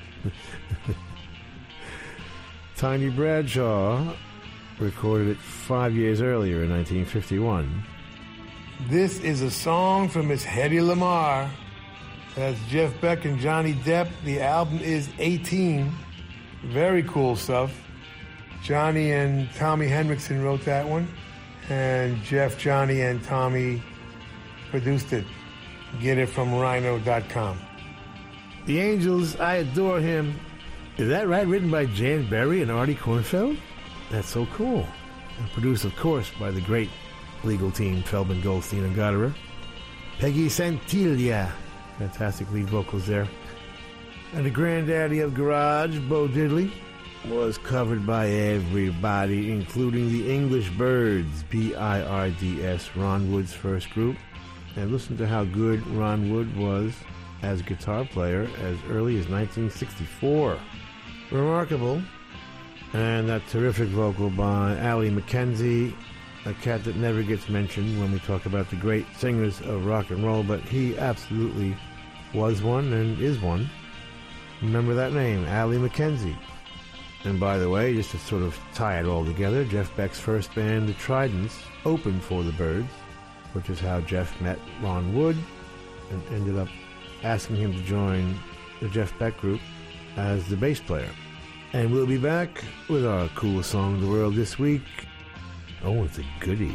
Tiny Bradshaw recorded it 5 years earlier in 1951. This is a song from Miss Hedy Lamarr. That's Jeff Beck and Johnny Depp. The album is 18. Very cool stuff. Johnny and Tommy Henriksen wrote that one, and Jeff, Johnny, and Tommy produced it. Get it from rhino.com. The Angels, I Adore Him. Is that right? Written by Jan Berry and Artie Kornfeld? That's so cool. And produced, of course, by the great legal team, Feldman, Goldstein, and Gotterer. Peggy Santiglia. Fantastic lead vocals there. And the granddaddy of garage, Bo Diddley, was covered by everybody, including the English Birds, B-I-R-D-S, Ron Wood's first group. And listen to how good Ron Wood was as a guitar player as early as 1964. Remarkable. And that terrific vocal by Allie McKenzie, a cat that never gets mentioned when we talk about the great singers of rock and roll, but he absolutely was one and is one. Remember that name, Allie McKenzie. And by the way, just to sort of tie it all together, Jeff Beck's first band, the Tridents, opened for the Birds, which is how Jeff met Ron Wood and ended up asking him to join the Jeff Beck group as the bass player. And we'll be back with our coolest song in the world this week. Oh, it's a goodie.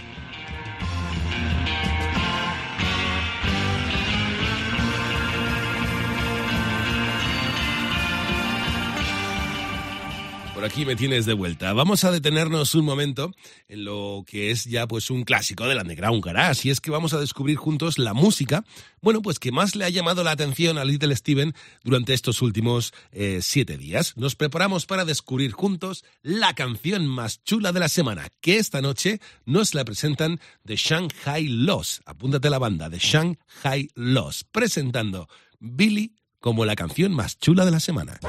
Por aquí me tienes de vuelta. Vamos a detenernos un momento en lo que es ya pues un clásico del Underground Garage, y es que vamos a descubrir juntos la música, bueno, pues que más le ha llamado la atención a Little Steven durante estos últimos 7 días. Nos preparamos para descubrir juntos la canción más chula de la semana, que esta noche nos la presentan The Shanghai Loss. Apúntate a la banda, The Shanghai Loss, presentando Billy como la canción más chula de la semana.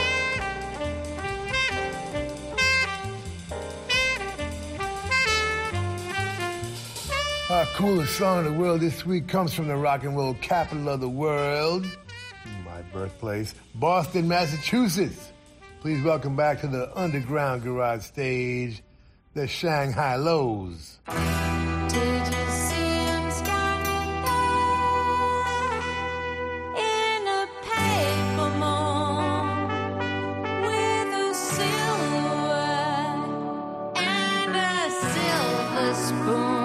Our coolest song in the world this week comes from the rock and roll capital of the world, my birthplace, Boston, Massachusetts. Please welcome back to the Underground Garage stage, the Shanghai Lows. Did you see him standing there in a paper mall with a silhouette and a silver spoon?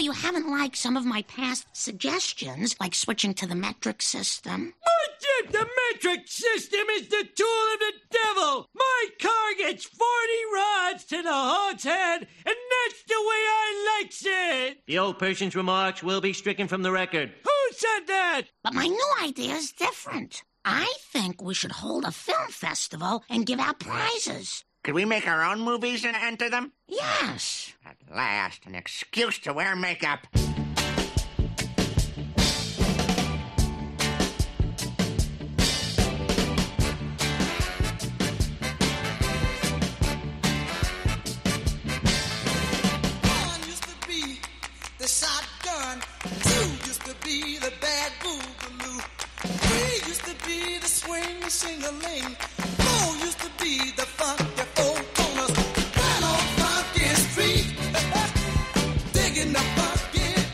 you haven't liked some of my past suggestions, like switching to the metric system. But if the metric system is the tool of the devil, my car gets 40 rods to the hog's head, and that's the way I likes it. The old person's remarks will be stricken from the record. Who said that? But my new idea is different. I think we should hold a film festival and give out prizes. Could we make our own movies and enter them? Yes. At last, an excuse to wear makeup. The shotgun. 2 used to be the bad boogaloo. 3 used to be the swing sing-a-ling. 4 used to be the funky four corners. Right on Funky Street, digging the funky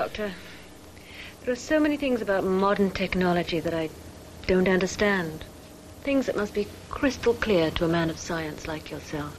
Doctor. There are so many things about modern technology that I don't understand. Things that must be crystal clear to a man of science like yourself.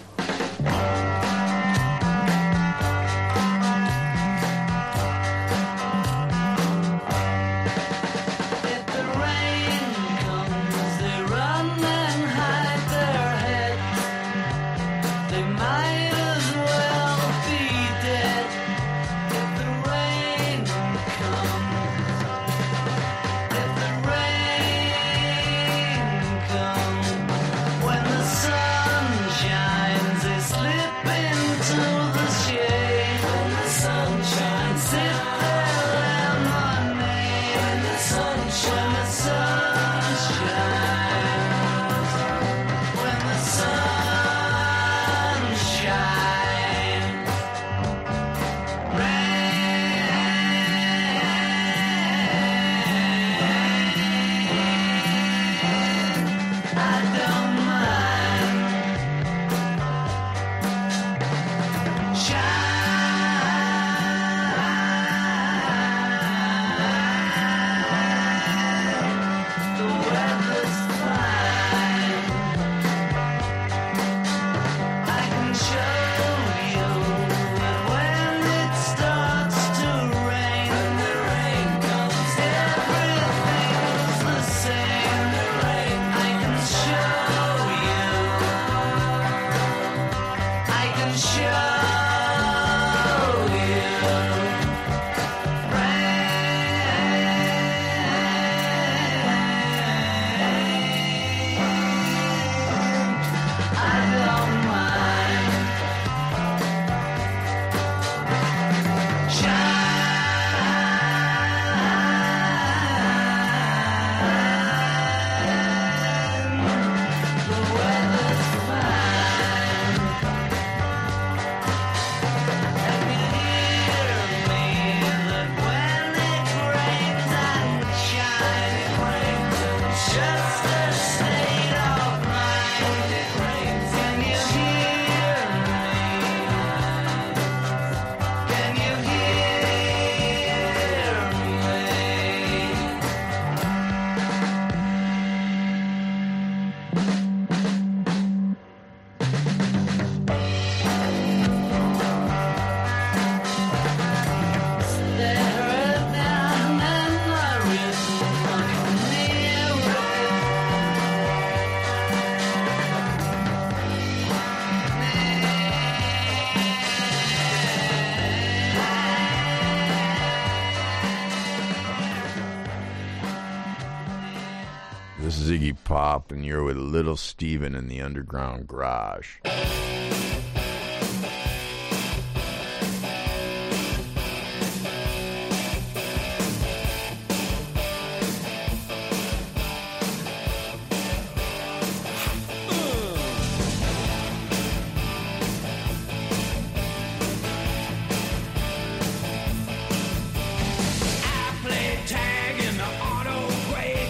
This is Iggy Pop, and you're with Little Steven in the Underground Garage.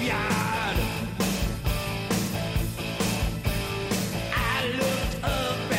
I looked up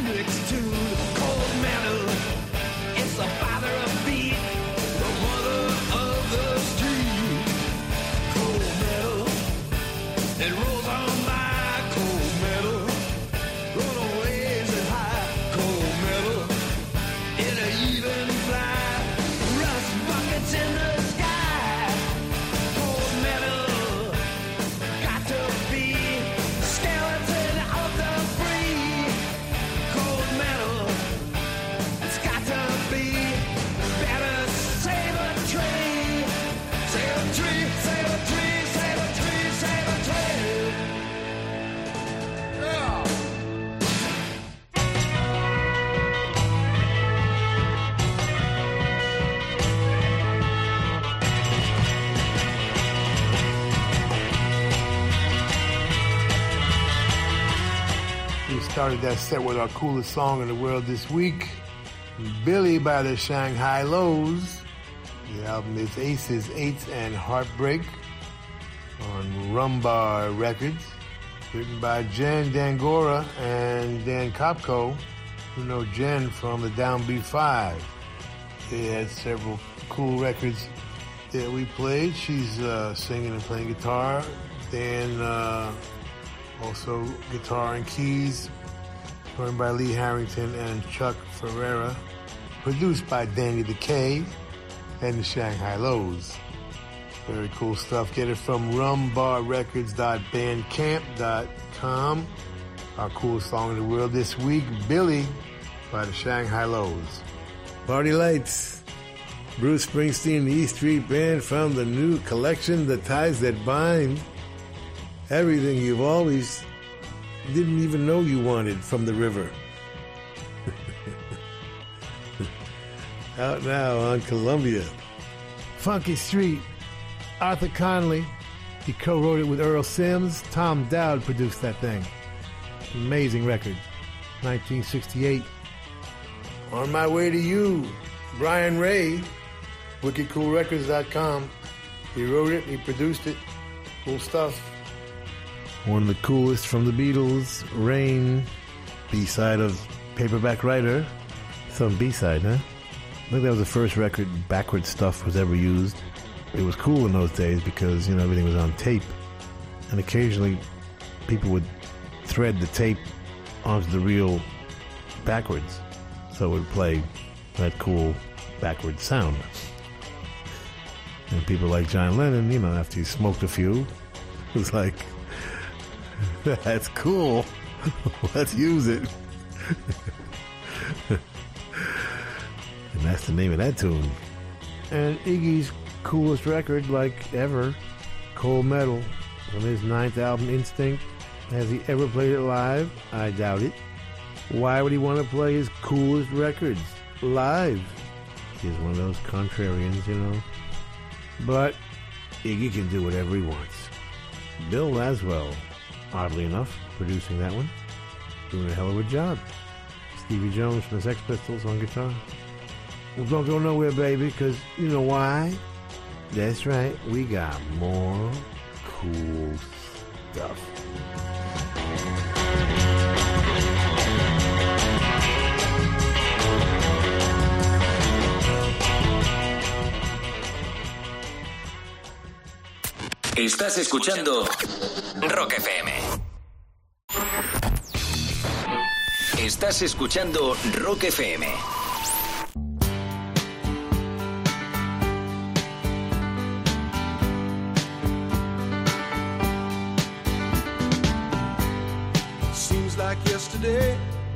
next to the cold metal. It's the father of beat, the mother of the street. Cold metal, it rolls on by. Cold metal, runaways and high. Cold metal, in a even fly. Rust buckets in the sky. Cold metal, got to be skeleton of the free. Cold metal, it's got to be better. Save a tree, save a tree, save a tree, save a tree, save a tree. Yeah. We started that set with our coolest song in the world this week, Billy by the Shanghai Lows. The album is Aces, Eights, and Heartbreak on Rumbar Records. Written by Jen Dangora and Dan Kopko, who know Jen from the Downbeat 5. They had several cool records that we played. She's singing and playing guitar. Dan also guitar and keys, joined by Lee Harrington and Chuck Ferreira. Produced by Danny the K and the Shanghai Lows. Very cool stuff. Get it from rumbarrecords.bandcamp.com. Our coolest song in the world this week, Billy by the Shanghai Lows. Party Lights. Bruce Springsteen, the E Street Band, from the new collection, The Ties That Bind. Everything you've always didn't even know you wanted from the river. Out now on Columbia. Funky Street, Arthur Conley. He co-wrote it with Earl Sims. Tom Dowd produced that thing. Amazing record. 1968. On My Way to You, Brian Ray, WickedCoolRecords.com. He wrote it, he produced it. Cool stuff. One of the coolest from the Beatles, Rain, B-side of Paperback Writer. Some B-side, huh? I think that was the first record backward stuff was ever used. It was cool in those days because, you know, everything was on tape. And occasionally people would thread the tape onto the reel backwards. So it would play that cool backward sound. And people like John Lennon, you know, after he smoked a few, was like, that's cool. Let's use it. And that's the name of that tune. And Iggy's coolest record, like ever, Cold Metal, from his 9th album, Instinct. Has he ever played it live? I doubt it. Why would he want to play his coolest records live? He's one of those contrarians, you know. But Iggy can do whatever he wants. Bill Laswell, oddly enough, producing that one. Doing a hell of a job. Stevie Jones from the Sex Pistols on guitar. Well, don't go nowhere, baby, because you know why? That's right, we got more cool stuff. Estás escuchando Rock FM. Estás escuchando Rock FM. Seems like yesterday,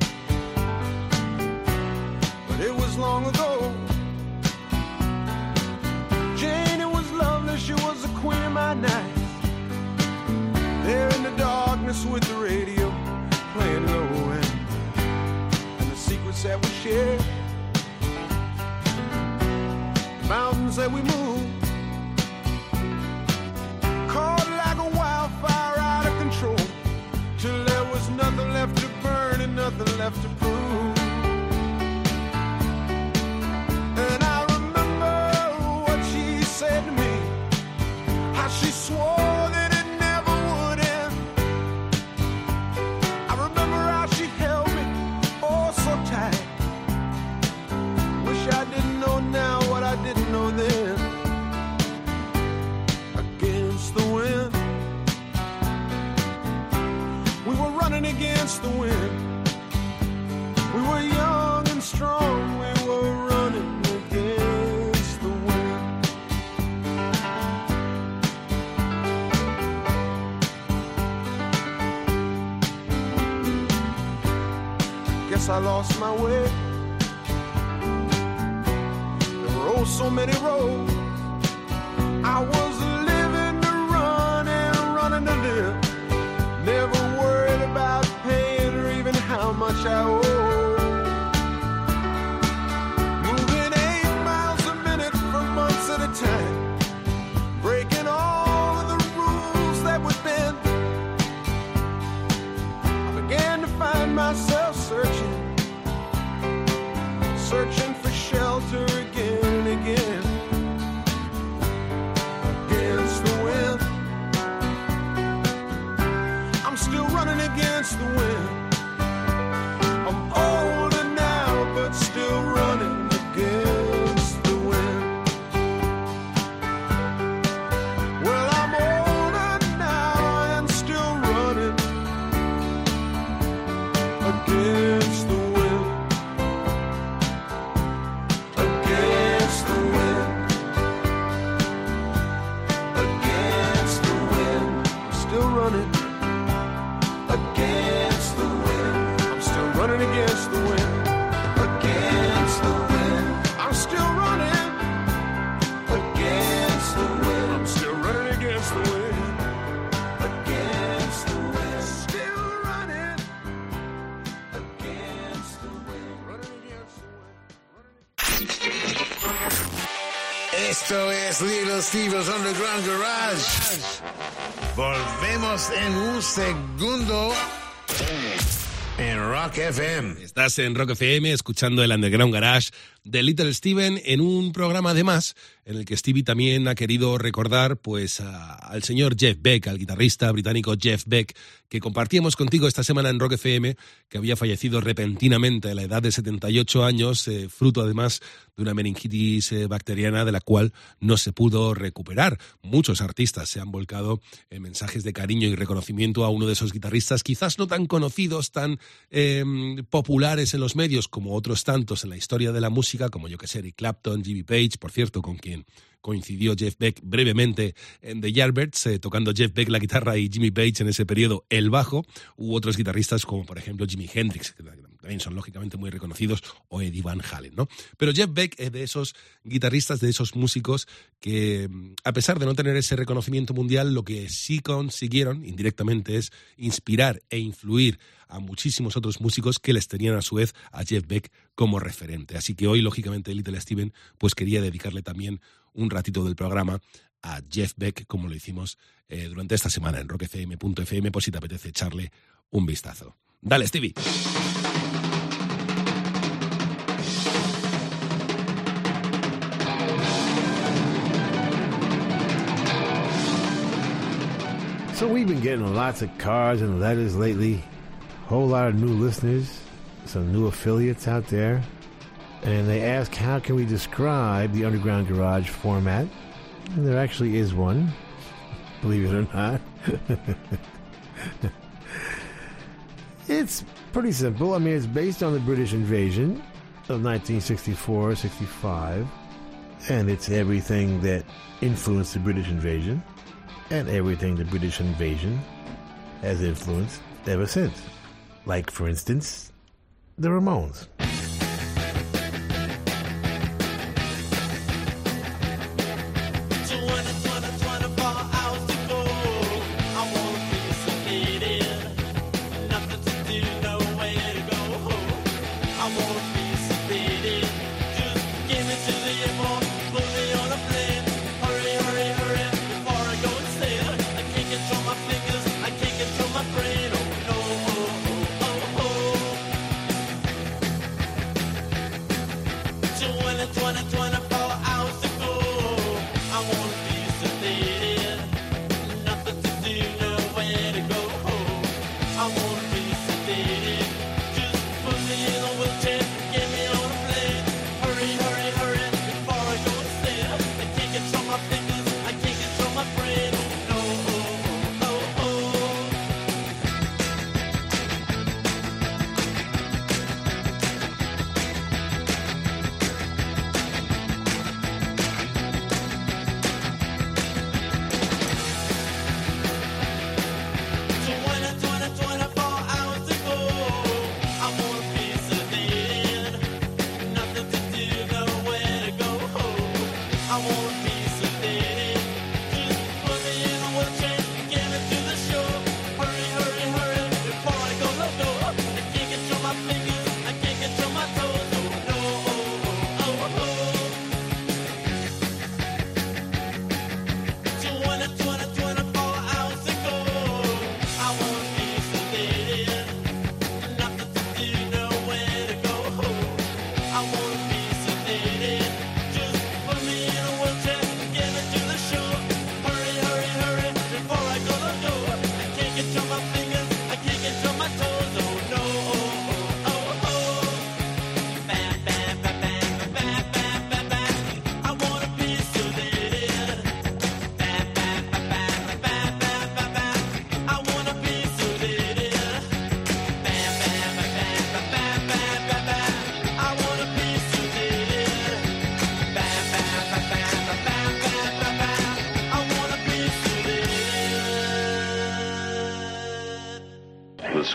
but it was long ago. Jane, it was lovely, she was the queen of my night. There in the darkness with the radio playing low and the secrets that we share, mountains that we move, caught like a wildfire out of control, till there was nothing left to burn and nothing left to prove. And I remember what she said to me, how she swore that it never would end. I remember how she held me, oh strong, we were running against the wind. Guess I lost my way. There were oh so many roads. I was living to run and running to live. Never worried about paying or even how much I owe. Moving 8 miles a minute for months at a time. Breaking all of the rules that would bend. I began to find myself searching for shelter again and again. Against the wind. I'm still running against the wind. I'm older now, but still running against the wind. Well, I'm older now and still running against the wind. Against the wind. Against the wind. I'm still running against the wind. I'm still running against the wind. Against the wind. I'm still running against the wind. I'm still running against the wind. Against the wind. Still running against the wind. Running against the wind. Esto es Little Steve's Underground Garage. Volvemos en un segundo en Rock FM. Estás en Rock FM escuchando el Underground Garage de Little Steven en un programa además en el que Stevie también ha querido recordar pues al señor Jeff Beck, al guitarrista británico Jeff Beck, que compartíamos contigo esta semana en Rock FM, que había fallecido repentinamente a la edad de 78 años, fruto además de una meningitis bacteriana de la cual no se pudo recuperar. Muchos artistas se han volcado en mensajes de cariño y reconocimiento a uno de esos guitarristas, quizás no tan conocidos, tan populares en los medios como otros tantos en la historia de la música, como yo que sé, Eric Clapton, Jimmy Page, por cierto, con quien coincidió Jeff Beck brevemente en The Yardbirds, tocando Jeff Beck la guitarra y Jimmy Page en ese periodo el bajo. Hubo otros guitarristas como por ejemplo Jimi Hendrix, que también son lógicamente muy reconocidos, o Eddie Van Halen, ¿no? Pero Jeff Beck es de esos guitarristas, de esos músicos que, a pesar de no tener ese reconocimiento mundial, lo que sí consiguieron indirectamente es inspirar e influir a muchísimos otros músicos que les tenían a su vez a Jeff Beck como referente. Así que hoy, lógicamente, Little Steven pues quería dedicarle también un ratito del programa a Jeff Beck, como lo hicimos durante esta semana en rockfm.fm, por si te apetece echarle un vistazo. Dale, Stevie. So we've been getting lots of cards and letters lately. Whole lot of new listeners, some new affiliates out there. And they ask, how can we describe the Underground Garage format? And there actually is one, believe it or not. It's pretty simple. I mean, it's based on the British invasion of 1964-65. And it's everything that influenced the British invasion and everything the British invasion has influenced ever since. Like, for instance, the Ramones.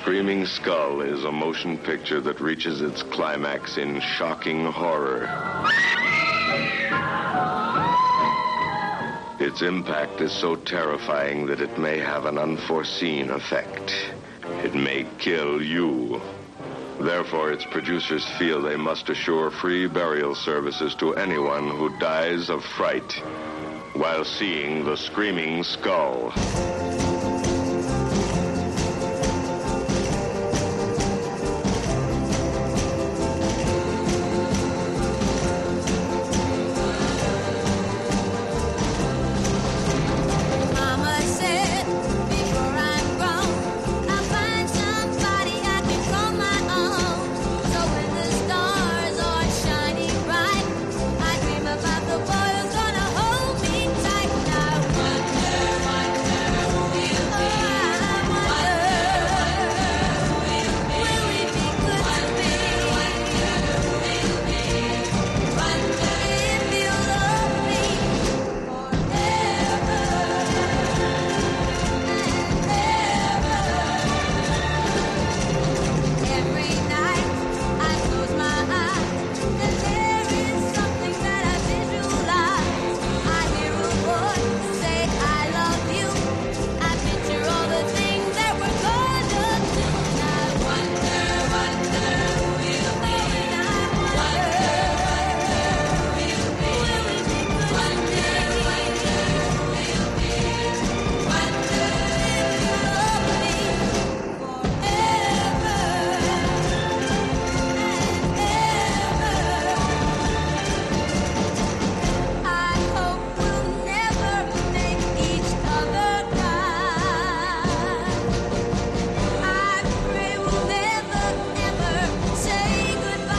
Screaming Skull is a motion picture that reaches its climax in shocking horror. Its impact is so terrifying that it may have an unforeseen effect. It may kill you. Therefore, its producers feel they must assure free burial services to anyone who dies of fright while seeing The Screaming Skull. Mama said, before I'm grown, I'll find somebody I can call my own. So when the stars are shining bright, I dream about the boy who's gonna hold me tight. And I wonder, will he be good to me? Wonder if he'll love me every night. I close my eyes, and there is something that I visualize. I hear a voice say, I love you. I picture all the things that we're gonna do. And I wonder, will he be? I hope we'll never make each other cry. I pray we'll never, ever say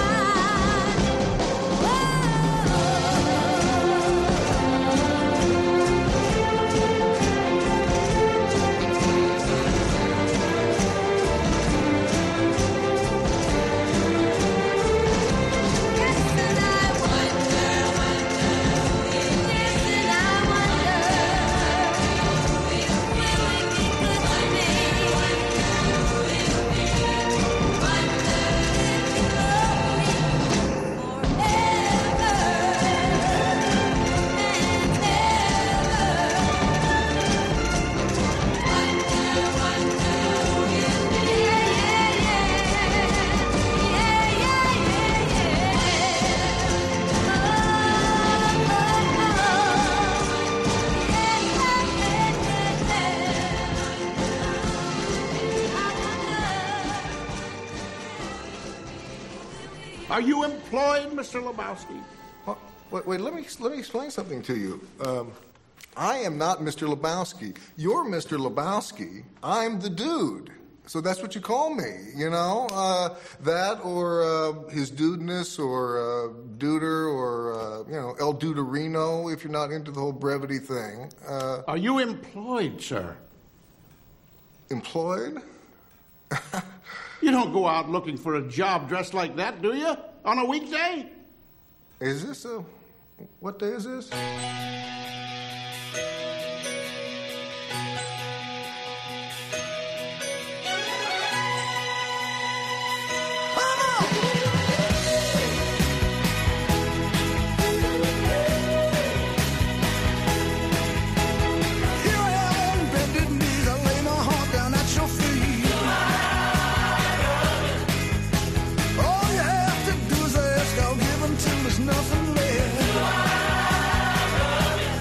Are you employed, Mr. Lebowski? Wait, let me explain something to you. I am not Mr. Lebowski. You're Mr. Lebowski. I'm the dude. So that's what you call me, you know? That or his dudeness or duder or, El Duderino if you're not into the whole brevity thing. Are you employed, sir? Employed? You don't go out looking for a job dressed like that, do you? On a weekday? Is this what day is this? nothing left.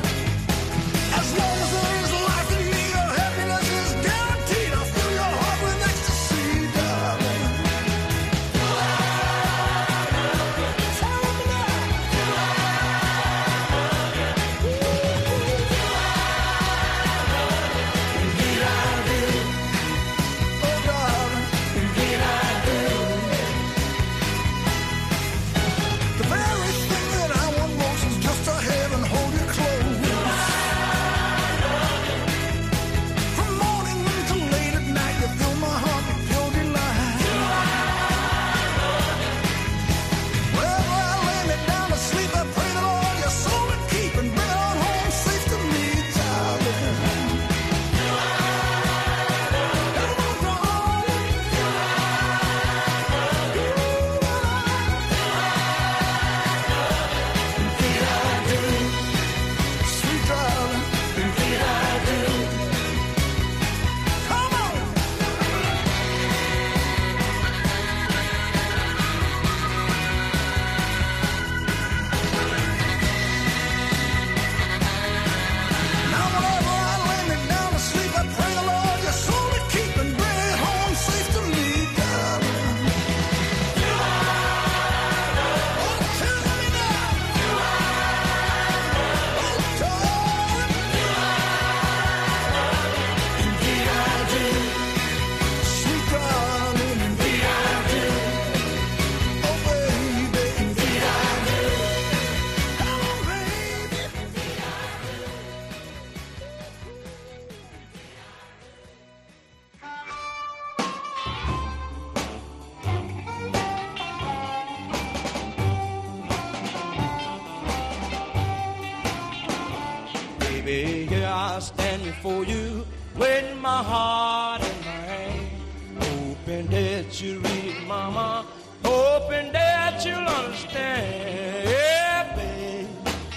I stand before you with my heart in my hand, hoping that you read, mama, hoping that you'll understand. Yeah, babe.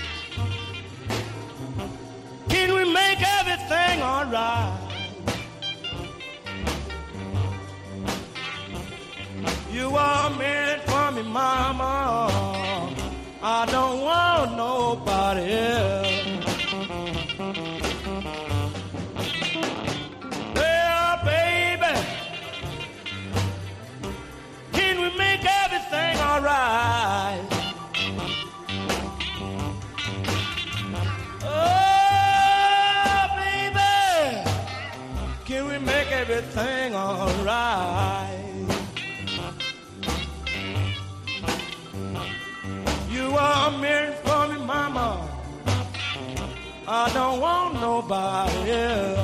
Can we make everything all right? You are meant for me, mama. I don't want nobody else. Well, baby, can we make everything all right? Oh, baby, can we make everything all right? You are meant for me, mama. I don't want nobody else.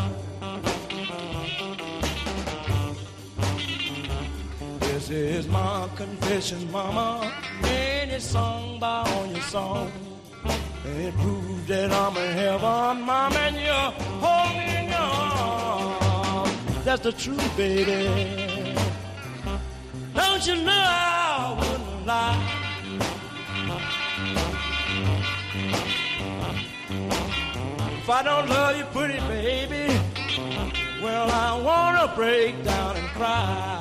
This is my confession, mama. Any song by on your song. It proves that I'm in heaven, mama, and you hold me in your arms. That's the truth, baby. Don't you know I wouldn't lie? If I don't love you pretty, baby, well, I wanna break down and cry.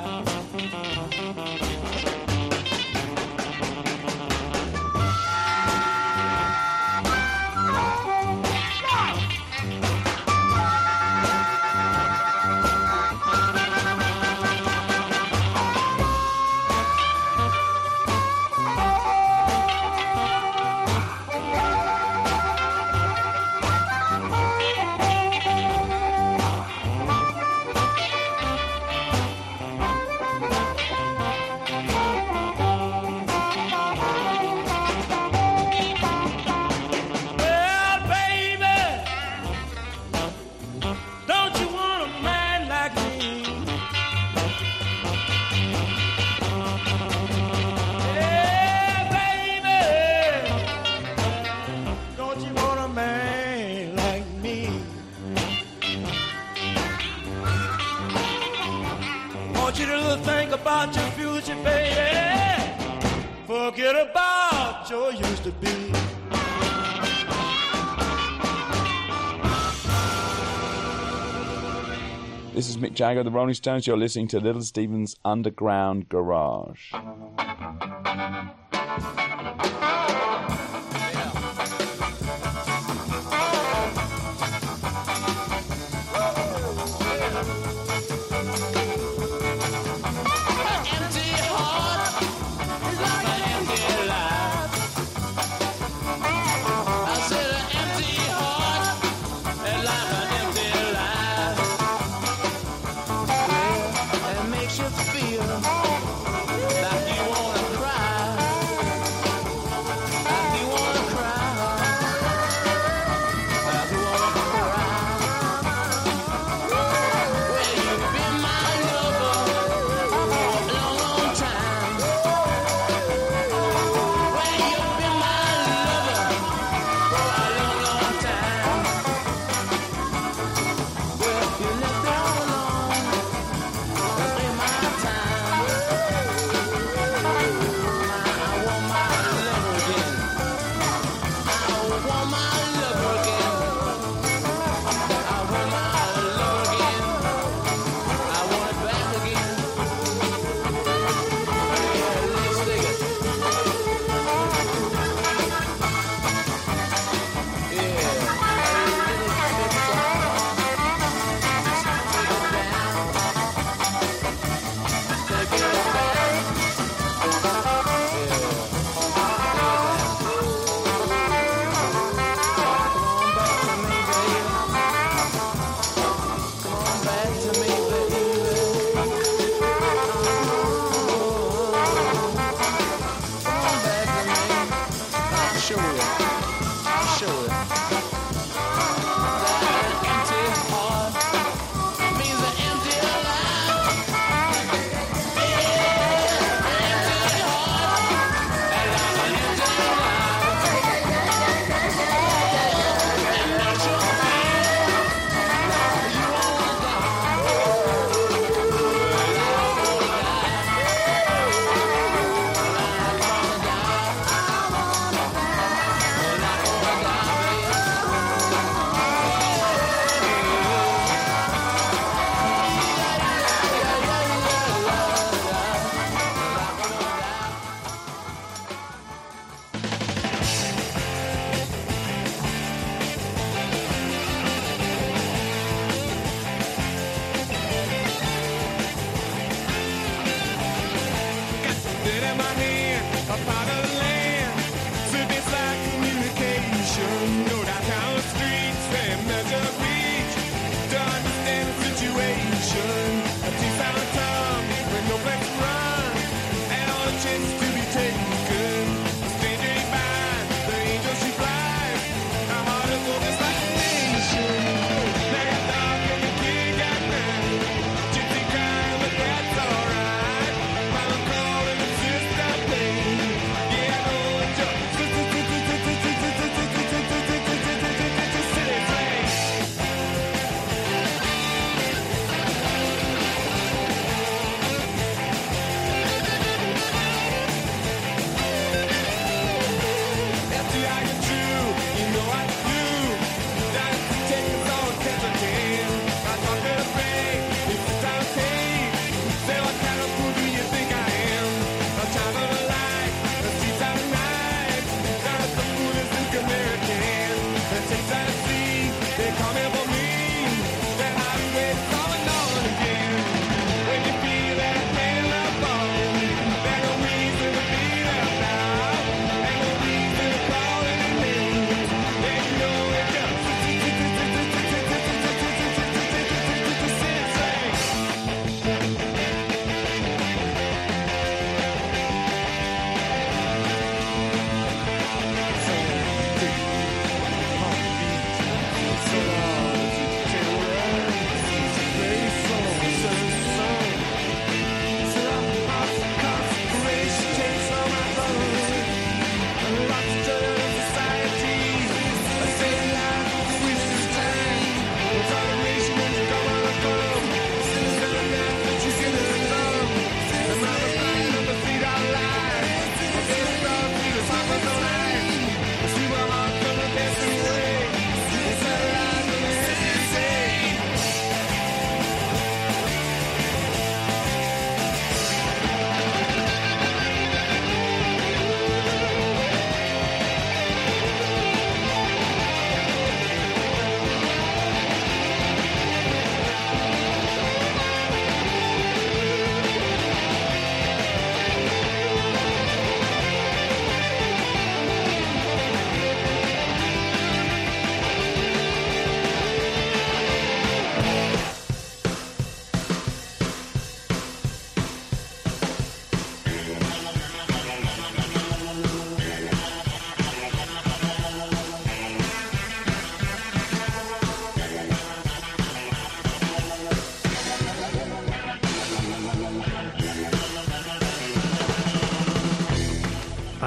About your future, baby. Forget about your used to be. This is Mick Jagger, the Rolling Stones. You're listening to Little Steven's Underground Garage.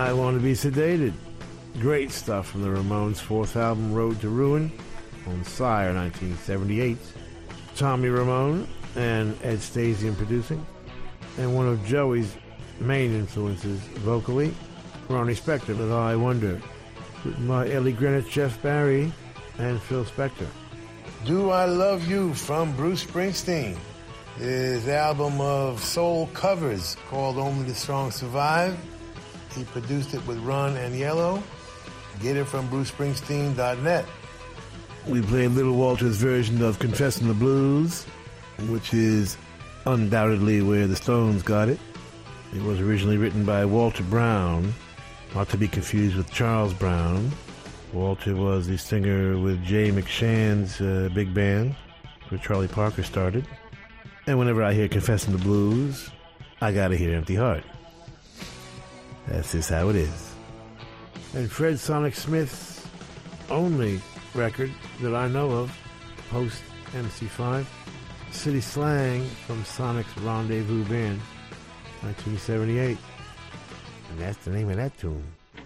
I Want to Be Sedated. Great stuff from the Ramones' fourth album, Road to Ruin, on Sire, 1978. Tommy Ramone and Ed Stasium producing. And one of Joey's main influences vocally, Ronnie Spector with I Wonder, written by Ellie Greenwich, Jeff Barry, and Phil Spector. Do I Love You from Bruce Springsteen. His album of soul covers called Only the Strong Survive. He produced it with Ron and Yellow. Get it from brucespringsteen.net. We played Little Walter's version of Confessing the Blues, which is undoubtedly where the Stones got it. It was originally written by Walter Brown, not to be confused with Charles Brown. Walter was the singer with Jay McShann's big band, where Charlie Parker started. And whenever I hear Confessing the Blues, I gotta hear Empty Heart. That's just how it is. And Fred Sonic Smith's only record that I know of, post MC5, City Slang from Sonic's Rendezvous Band, 1978. And that's the name of that tune.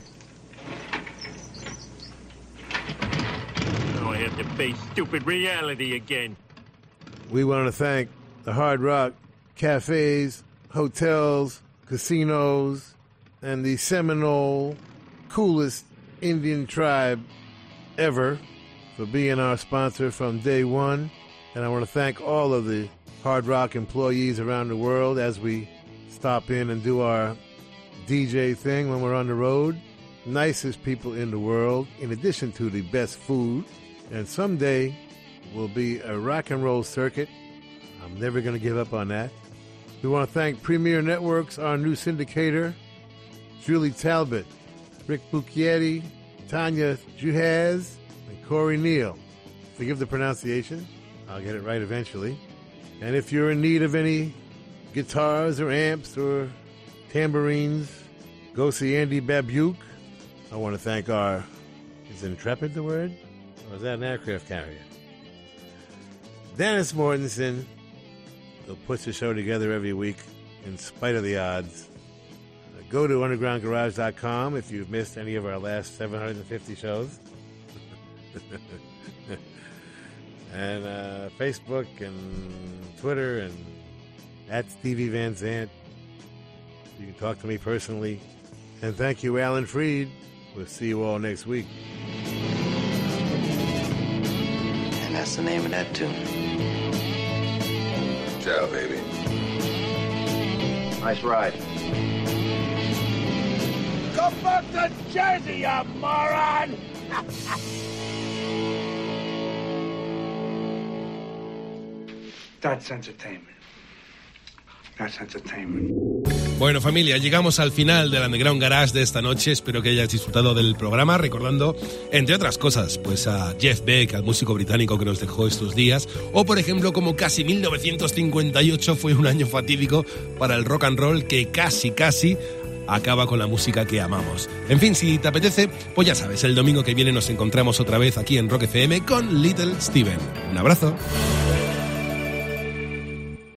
Now I have to face stupid reality again. We want to thank the Hard Rock cafes, hotels, casinos, and the Seminole coolest Indian tribe ever for being our sponsor from day one. And I want to thank all of the Hard Rock employees around the world as we stop in and do our DJ thing when we're on the road. Nicest people in the world, in addition to the best food. And someday will be a rock and roll circuit. I'm never going to give up on that. We want to thank Premier Networks, our new syndicator, Julie Talbot, Rick Bucchietti, Tanya Juhaz, and Corey Neal. Forgive the pronunciation. I'll get it right eventually. And if you're in need of any guitars or amps or tambourines, go see Andy Babuke. I want to thank is Intrepid the word? Or is that an aircraft carrier? Dennis Mortensen, who puts the show together every week in spite of the odds. Go to undergroundgarage.com if you've missed any of our last 750 shows. And Facebook and Twitter and at Stevie Van Zandt. You can talk to me personally. And thank you, Alan Freed. We'll see you all next week. And that's the name of that tune. Ciao, baby. Nice ride. Go back to Jersey, you moron! That's entertainment. That's entertainment. Bueno, familia, llegamos al final del Underground Garage de esta noche. Espero que hayáis disfrutado del programa, recordando, entre otras cosas, pues a Jeff Beck, al músico británico que nos dejó estos días, o por ejemplo, como casi 1958 fue un año fatídico para el rock and roll que casi acaba con la música que amamos. En fin, si te apetece, pues ya sabes, el domingo que viene nos encontramos otra vez aquí en Rock FM con Little Steven. Un abrazo.